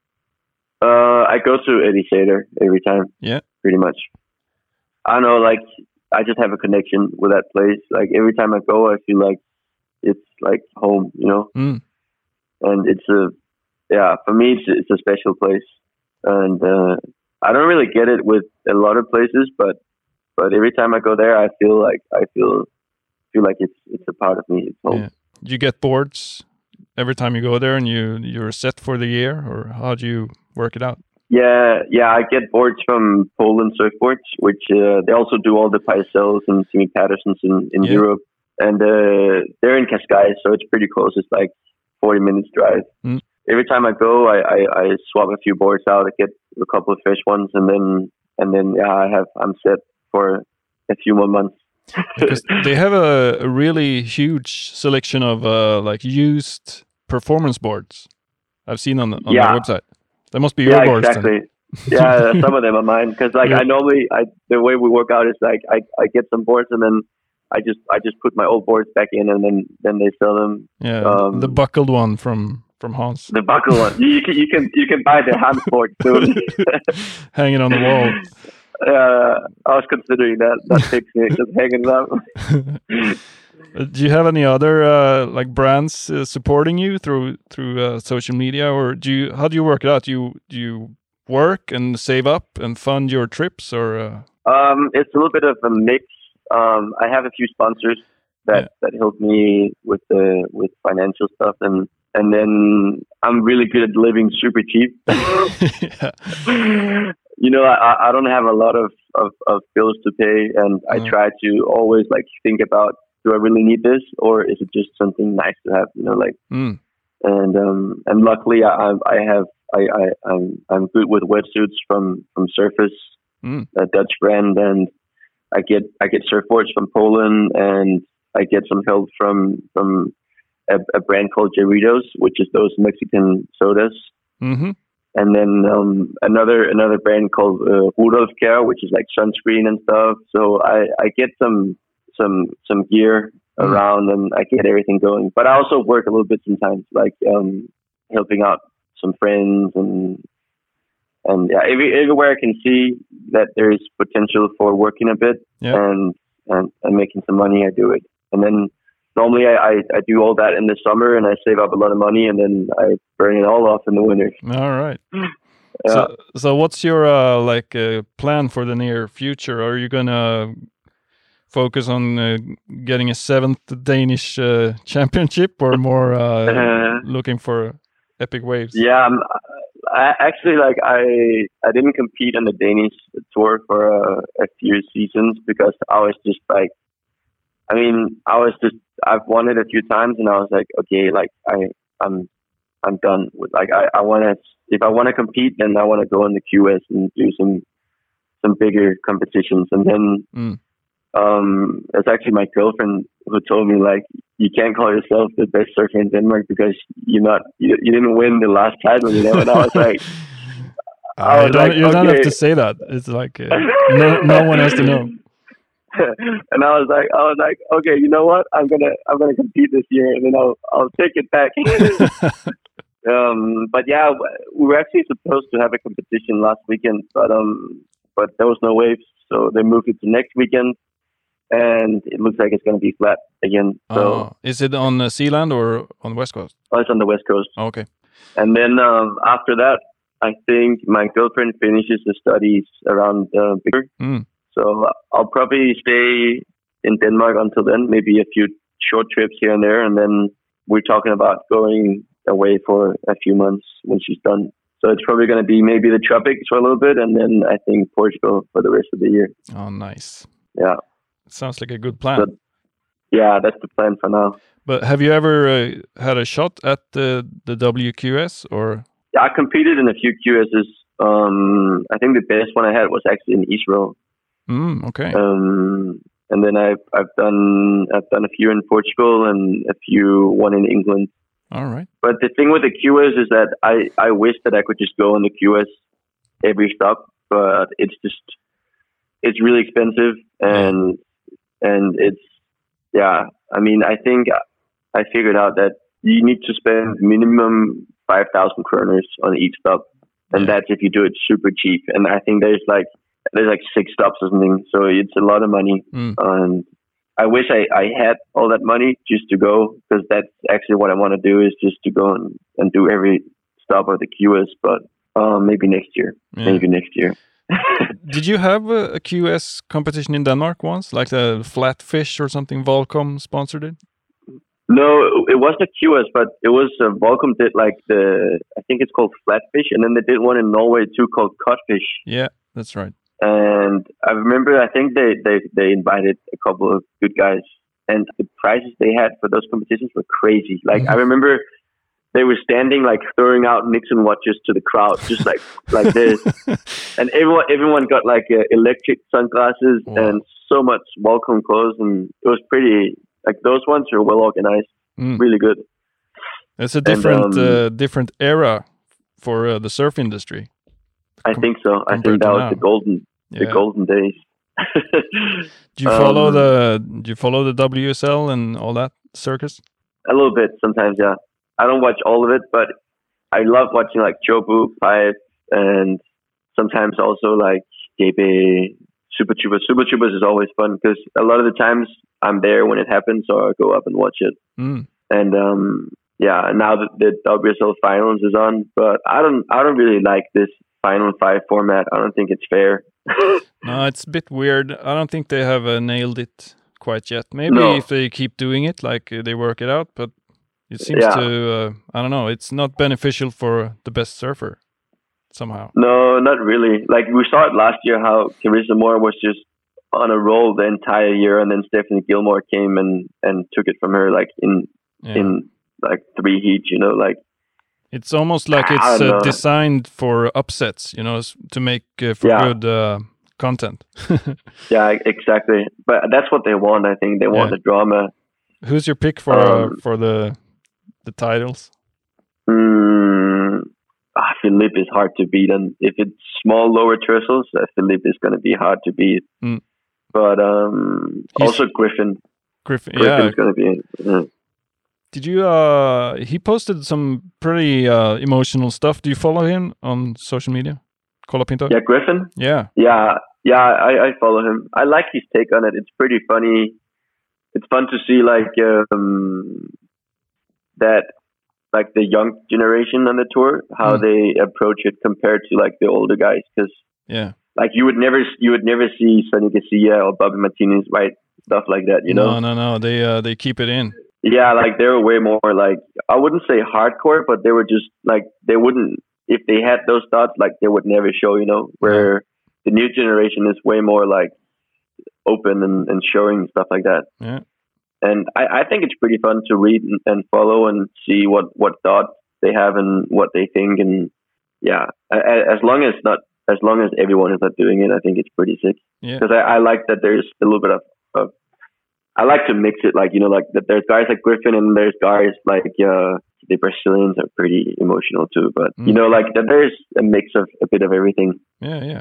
Uh, I go to Ericeira every time. Yeah. Pretty much. I don't know, like I just have a connection with that place. Like every time I go, I feel like it's like home, you know. Mm. And it's a, yeah, for me, it's it's a special place. And uh, I don't really get it with a lot of places, but but every time I go there, I feel like I feel feel like it's it's a part of me. It's home. Yeah. Do you get boards every time you go there, and you you're set for the year, or how do you work it out? Yeah, yeah, I get boards from Poland Surfboards, which uh, they also do all the Pycelles and Timmy Pattersons in, in Yeah. Europe. And uh, they're in Cascais, so it's pretty close. It's like forty minutes drive. Mm. Every time I go, I, I, I swap a few boards out. I get a couple of fresh ones, and then and then yeah, I have I'm set for a few more months. Because they have a, a really huge selection of uh, like used performance boards. I've seen on the, on Yeah. their website. That must be your Yeah, boards. then. exactly. Yeah, some of them are mine because like Yeah. I normally I the way we work out is like I, I get some boards and then I just I just put my old boards back in and then then they sell them. Yeah, Um, the buckled one from from Hans, The buckle one. You can you can you can buy the hand board soon. hanging on the wall. uh, I was considering that not fixing it, just hanging it up. Uh, Do you have any other uh, like brands uh, supporting you through through uh, social media, or do you? How do you work it out? Do you do you work and save up and fund your trips, or? Uh... Um, it's a little bit of a mix. Um, I have a few sponsors that, Yeah. that help me with the with financial stuff, and and then I'm really good at living super cheap. yeah. You know, I, I don't have a lot of, of, of bills to pay, and I No. try to always like think about do I really need this, or is it just something nice to have? You know, like, Mm. and um, and luckily I I have I I I'm I'm good with wetsuits from from Surface, Mm. a Dutch brand, and I get I get surfboards from Poland, and I get some help from from a, a brand called Jarritos, which is those Mexican sodas. Mm-hmm. And then um, another another brand called uh, Rudolf Care, which is like sunscreen and stuff. So I, I get some some some gear Mm. around, and I get everything going. But I also work a little bit sometimes, like um, helping out some friends, and and yeah, every, everywhere I can see that there is potential for working a bit Yeah. and, and and making some money, I do it. And then normally I, I, I do all that in the summer, and I save up a lot of money, and then I burn it all off in the winter. All right. Yeah. So, so what's your uh, like uh, plan for the near future? Are you gonna focus on uh, getting a seventh Danish uh, championship, or more uh, Uh, looking for epic waves? yeah, I'm, I actually like I I didn't compete on the Danish tour for a, a few seasons because I was just like, I mean, I was just I've won it a few times, and I was like, okay, like I I'm I'm done with like I I want to if I want to compete, then I want to go in the Q S and do some some bigger competitions, and then. Mm. Um, it's actually my girlfriend who told me, like, you can't call yourself the best surfer in Denmark because you're not, you, you didn't win the last title, you know. And I was like, I Uh, was you don't, like, you don't have okay. to say that. It's like uh, no no one has to know. And I was like, I was like, okay, you know what? I'm gonna, I'm gonna compete this year, and then I'll, I'll take it back. um, but yeah, we were actually supposed to have a competition last weekend, but um, but there was no waves, so they moved it to next weekend. And it looks like it's going to be flat again. So, Oh, is it on uh, Sealand or on the West Coast? oh, it's on the West Coast. Oh, okay. And then um, after that, I think my girlfriend finishes the studies around uh, Bigger. Mm. So I'll probably stay in Denmark until then, maybe a few short trips here and there. And then we're talking about going away for a few months when she's done. So it's probably going to be maybe the tropics for a little bit, and then I think Portugal for the rest of the year. Oh, nice. Yeah. Sounds like a good plan. But, yeah, that's the plan for now. But have you ever uh, had a shot at the the W Q S or? Yeah, I competed in a few Q Ss. Um, I think the best one I had was actually in Israel. Mm, okay. Um, and then I've I've done I've done a few in Portugal and a few one in England. All right. But the thing with the Q S is that I I wish that I could just go on the Q S every stop, but it's just it's really expensive, and and it's yeah. I mean, I think I figured out that you need to spend minimum five thousand kroners on each stop, and Yeah. that's if you do it super cheap. And I think there's like there's like six stops or something, so it's a lot of money. Mm. And I wish I, I had all that money just to go, because that's actually what I want to do, is just to go and, and do every stop of the Q S. But um, maybe next year, Yeah. maybe next year. Did you have a, a Q S competition in Denmark once, like the Flatfish or something? Volcom sponsored it. No, it wasn't a Q S, but it was uh, Volcom did like the I think it's called Flatfish, and then they did one in Norway too called Codfish. Yeah, that's right. And I remember, I think they, they, they invited a couple of good guys, and the prizes they had for those competitions were crazy. Like, I remember they were standing, like, throwing out Nixon watches to the crowd, just like like this. And everyone everyone got, like, uh, electric sunglasses Wow. and so much welcome clothes, and it was pretty, like, those ones were well organized, Mm. really good. It's a different um, uh, different era for uh, the surf industry. I Com- think so. I compared think that to was now. the golden the Yeah. golden days. Do you follow Um, the Do you follow the W S L and all that circus? A little bit sometimes, yeah. I don't watch all of it, but I love watching like Jobu, Pipe, and sometimes also like J B, Super Tubers. Super Tubers is always fun because a lot of the times I'm there when it happens, so I go up and watch it. Mm. And um, yeah, now that the W S L finals is on, but I don't, I don't really like this Final Five format. I don't think it's fair. No, it's a bit weird. I don't think they have uh, nailed it quite yet. Maybe No. if they keep doing it, like uh, they work it out, but it seems Yeah. to, uh, I don't know, it's not beneficial for the best surfer somehow. No, not really. Like we saw it last year, how Carissa Moore was just on a roll the entire year, and then Stephanie Gilmore came and, and took it from her like in yeah. in like three heats. You know, like it's almost like it's uh, designed for upsets. You know, to make uh, for yeah. good uh, content. Yeah, exactly. But that's what they want. I think they want yeah. the drama. Who's your pick for um, uh, for the the titles? Mm, ah, Philippe is hard to beat, and if it's small lower trestles, uh, Philippe is going to be hard to beat. Mm. But um, also Griffin. Griffin, Griffin's yeah. going to be. Yeah. Did you? Uh, he posted some pretty uh, emotional stuff. Do you follow him on social media? Colapinto? Yeah, Griffin. Yeah, yeah, yeah. I, I follow him. I like his take on it. It's pretty funny. It's fun to see like um, that. Like the young generation on the tour, how mm. they approach it compared to like the older guys. Because yeah, like you would never, you would never see Sonny Garcia or Bobby Martinez write stuff like that. You know? No, no, no. They uh, they keep it in. Yeah, like they were way more like I wouldn't say hardcore, but they were just like they wouldn't if they had those thoughts, like they would never show. You know, where yeah. the new generation is way more like open and, and showing stuff like that. Yeah. And I, I think it's pretty fun to read and, and follow and see what, what thoughts they have and what they think. And yeah, as long as not as long as everyone is not doing it, I think it's pretty sick. Because yeah. I, I like that there's a little bit of, of, I like to mix it, like you know, like that there's guys like Griffin and there's guys like uh, the Brazilians are pretty emotional too. But mm. you know, like that there's a mix of a bit of everything. Yeah, yeah,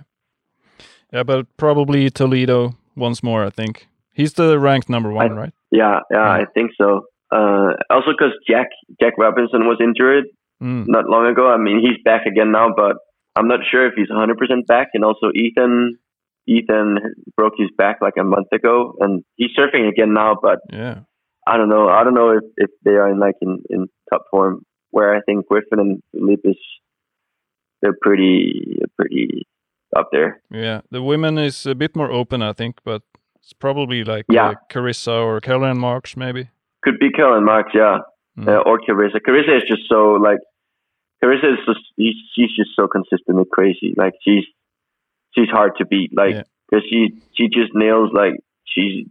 yeah. But probably Toledo once more. I think he's the ranked number one, I, right? Yeah, yeah, mm. I think so. Uh, also, because Jack Jack Robinson was injured mm. not long ago. I mean, he's back again now, but I'm not sure if he's one hundred percent back. And also, Ethan Ethan broke his back like a month ago, and he's surfing again now. But yeah, I don't know. I don't know if, if they are in like in, in top form. Where I think Griffin and Philippe is, they're pretty pretty up there. Yeah, the women is a bit more open, I think, but. It's probably like yeah. uh, Carissa or Caroline Marks, maybe. Could be Caroline Marks, yeah, mm. uh, or Carissa. Carissa is just so like Carissa is just she's just so consistent and crazy. Like she's she's hard to beat. Like because yeah. she she just nails like she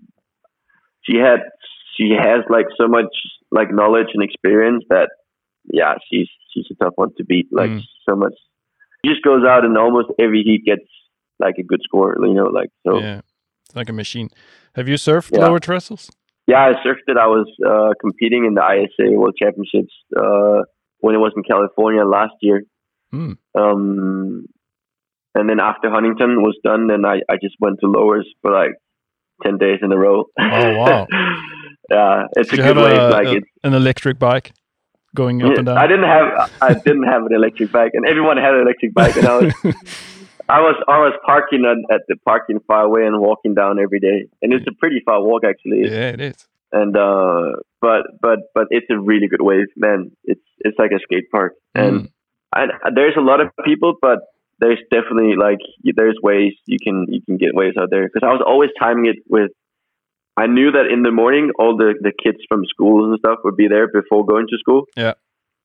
she had she has like so much like knowledge and experience that yeah she's she's a tough one to beat. Like mm. so much. She just goes out and almost every heat gets like a good score. You know, like so. Yeah. Like a machine. Have you surfed yeah. lower trestles? Yeah, I surfed it. I was uh, competing in the I S A World Championships uh, when it was in California last year. Mm. Um, and then after Huntington was done, then I, I just went to lowers for like ten days in a row. Oh, wow. Yeah, it's Did a you good wave. A, like a, it's an electric bike going up yeah, and down? I didn't have I didn't have an electric bike, and everyone had an electric bike, and I was I was I was parking at, at the parking far away and walking down every day, and it's a pretty far walk actually. Yeah, it is. And uh, but but but it's a really good wave, man. It's it's like a skate park, and mm. I, there's a lot of people, but there's definitely like there's ways you can you can get waves out there. Because I was always timing it with. I knew that in the morning all the, the kids from schools and stuff would be there before going to school. Yeah,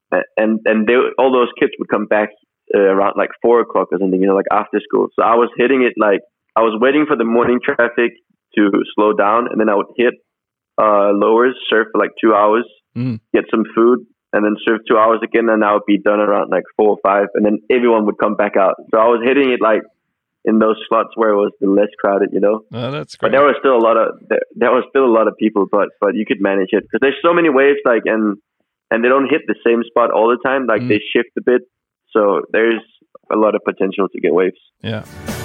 and and they all those kids would come back. Uh, around like four o'clock or something, you know, like after school. So I was hitting it like I was waiting for the morning traffic to slow down, and then I would hit uh, lowers, surf for like two hours, mm. get some food, and then surf two hours again, and I would be done around like four or five, and then everyone would come back out. So I was hitting it like in those slots where it was the less crowded, you know. Oh, that's great. But there was still a lot of there, there was still a lot of people, but but you could manage it because there's so many waves, like and and they don't hit the same spot all the time. Like mm. they shift a bit. So there's a lot of potential to get waves. Yeah.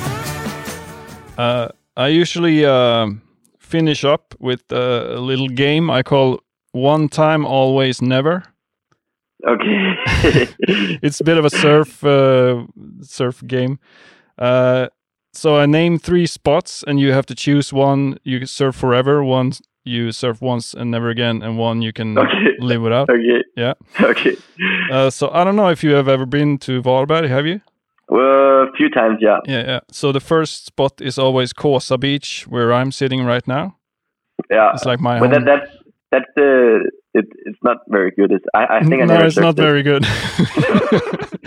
Uh, I usually uh, finish up with uh, a little game I call One Time Always Never. Okay. It's a bit of a surf uh, surf game. Uh, so I name three spots, and you have to choose one you can surf forever, one you surf once and never again, and one you can okay. live without. Okay. Yeah. Okay. Uh, so I don't know if you have ever been to Varberg, have you? Well, a few times, yeah. Yeah, yeah. So the first spot is always Kåsa Beach, where I'm sitting right now. Yeah. It's like my but home. That, that's that's the it, it's not very good. It's, I I think I no, never it's not it. very good.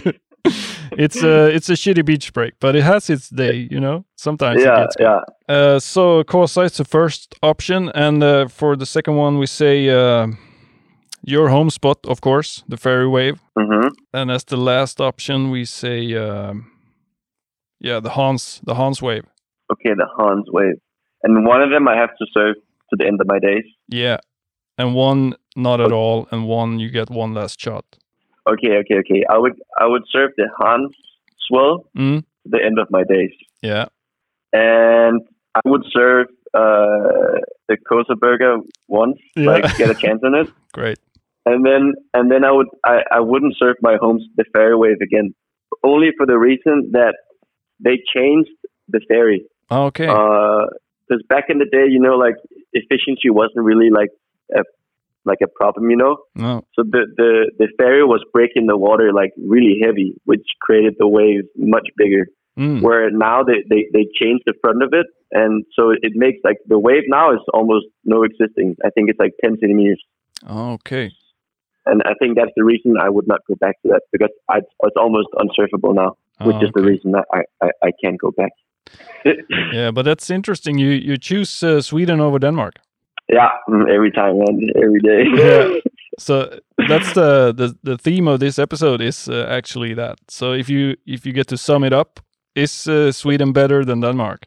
it's a it's a shitty beach break, but it has its day, you know. Sometimes yeah, it gets yeah. Uh, so Kåsa is the first option, and uh, for the second one, we say uh, your home spot, of course, the Ferry Wave, Mm-hmm. and as the last option, we say uh, yeah, the Hans, the Hans Wave. Okay, the Hans Wave, and one of them I have to serve to the end of my days. Yeah, and one not at all, and one you get one last shot. Okay, okay, okay. I would I would serve the Hans Swell Mm. to the end of my days, Yeah. and I would serve uh, the Kåsa Burger once, Yeah. like get a chance on it, Great. and then and then I would I, I wouldn't serve my homes the Ferry Wave again, only for the reason that they changed the ferry. Okay. Because back in the day, you know, like efficiency wasn't really like a like a problem, you know. No. So the, the, the ferry was breaking the water like really heavy, which created the waves much bigger. Mm. Where now they, they, they changed the front of it, and so it makes like the wave now is almost no existing. I think it's like ten centimeters. Okay. And I think that's the reason I would not go back to that, because I, it's almost unsurfable now, which Oh, is the okay. reason that I, I, I can't go back. Yeah, but that's interesting. You you choose uh, Sweden over Denmark. Yeah, every time, man, every day. Yeah. So that's the, the the theme of this episode is uh, actually that. So if you if you get to sum it up, is uh, Sweden better than Denmark?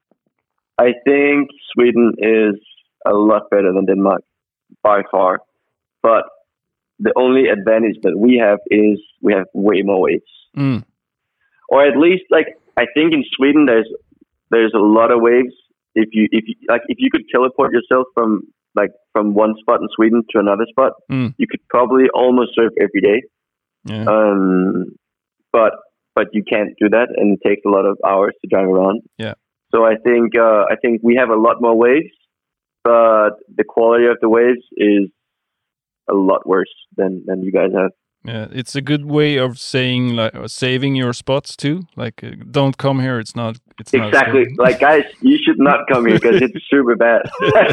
I think Sweden is a lot better than Denmark by far, but the only advantage that we have is we have way more waves, Mm. or at least like I think in Sweden there's there's a lot of waves. If you if you, like if you could teleport yourself from like from one spot in Sweden to another spot, Mm. you could probably almost surf every day. Yeah. Um, but but you can't do that, and it takes a lot of hours to drive around. Yeah. So I think uh, I think we have a lot more waves, but the quality of the waves is a lot worse than than you guys have. Yeah, it's a good way of saying like uh, saving your spots too. Like, uh, don't come here. It's not. It's not Exactly. safe. Like, guys, you should not come here because it's super bad.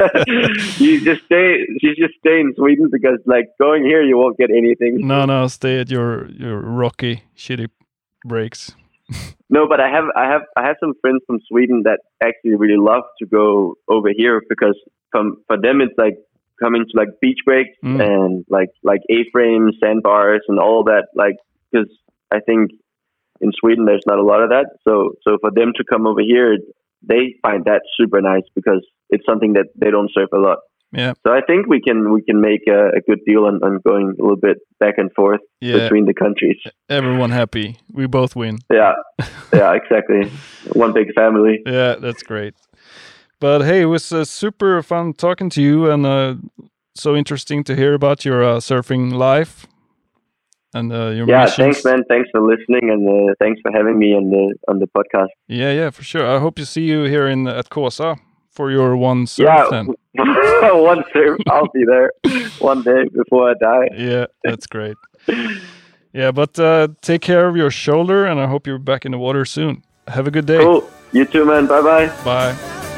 you just stay. You just stay in Sweden, because like going here, you won't get anything. No, no, stay at your your rocky, shitty breaks. No, but I have, I have, I have some friends from Sweden that actually really love to go over here, because from for them it's like coming to like beach breaks Mm. and like like A-frame sandbars and all that. Like, because I think in Sweden there's not a lot of that. So so for them to come over here, they find that super nice, because it's something that they don't surf a lot. Yeah. So I think we can we can make a, a good deal on, on going a little bit back and forth Yeah. between the countries. Everyone happy. We both win. Yeah, yeah, exactly. One big family. Yeah, that's great. But hey, it was uh, super fun talking to you, and uh, so interesting to hear about your uh, surfing life and uh, your Yeah, missions. thanks, man. Thanks for listening, and uh, thanks for having me on the on the podcast. Yeah, yeah, for sure. I hope to see you here in at Kåsa for your one surf Yeah, then. one surf, I'll be there one day before I die. Yeah, that's great. Yeah, but uh, take care of your shoulder, and I hope you're back in the water soon. Have a good day. Cool. You too, man. Bye bye. Bye.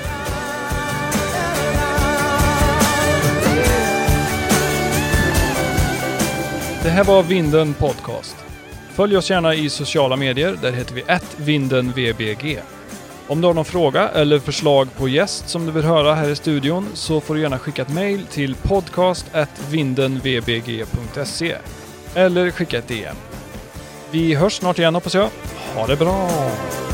Det här var Vinden Podcast. Följ oss gärna i sociala medier, där heter vi at vinden v b g. Om du har någon fråga eller förslag på gäst som du vill höra här i studion, så får du gärna skicka ett mejl till podcast at vinden v b g punkt se eller skicka ett D M. Vi hörs snart igen, hoppas jag. Ha det bra!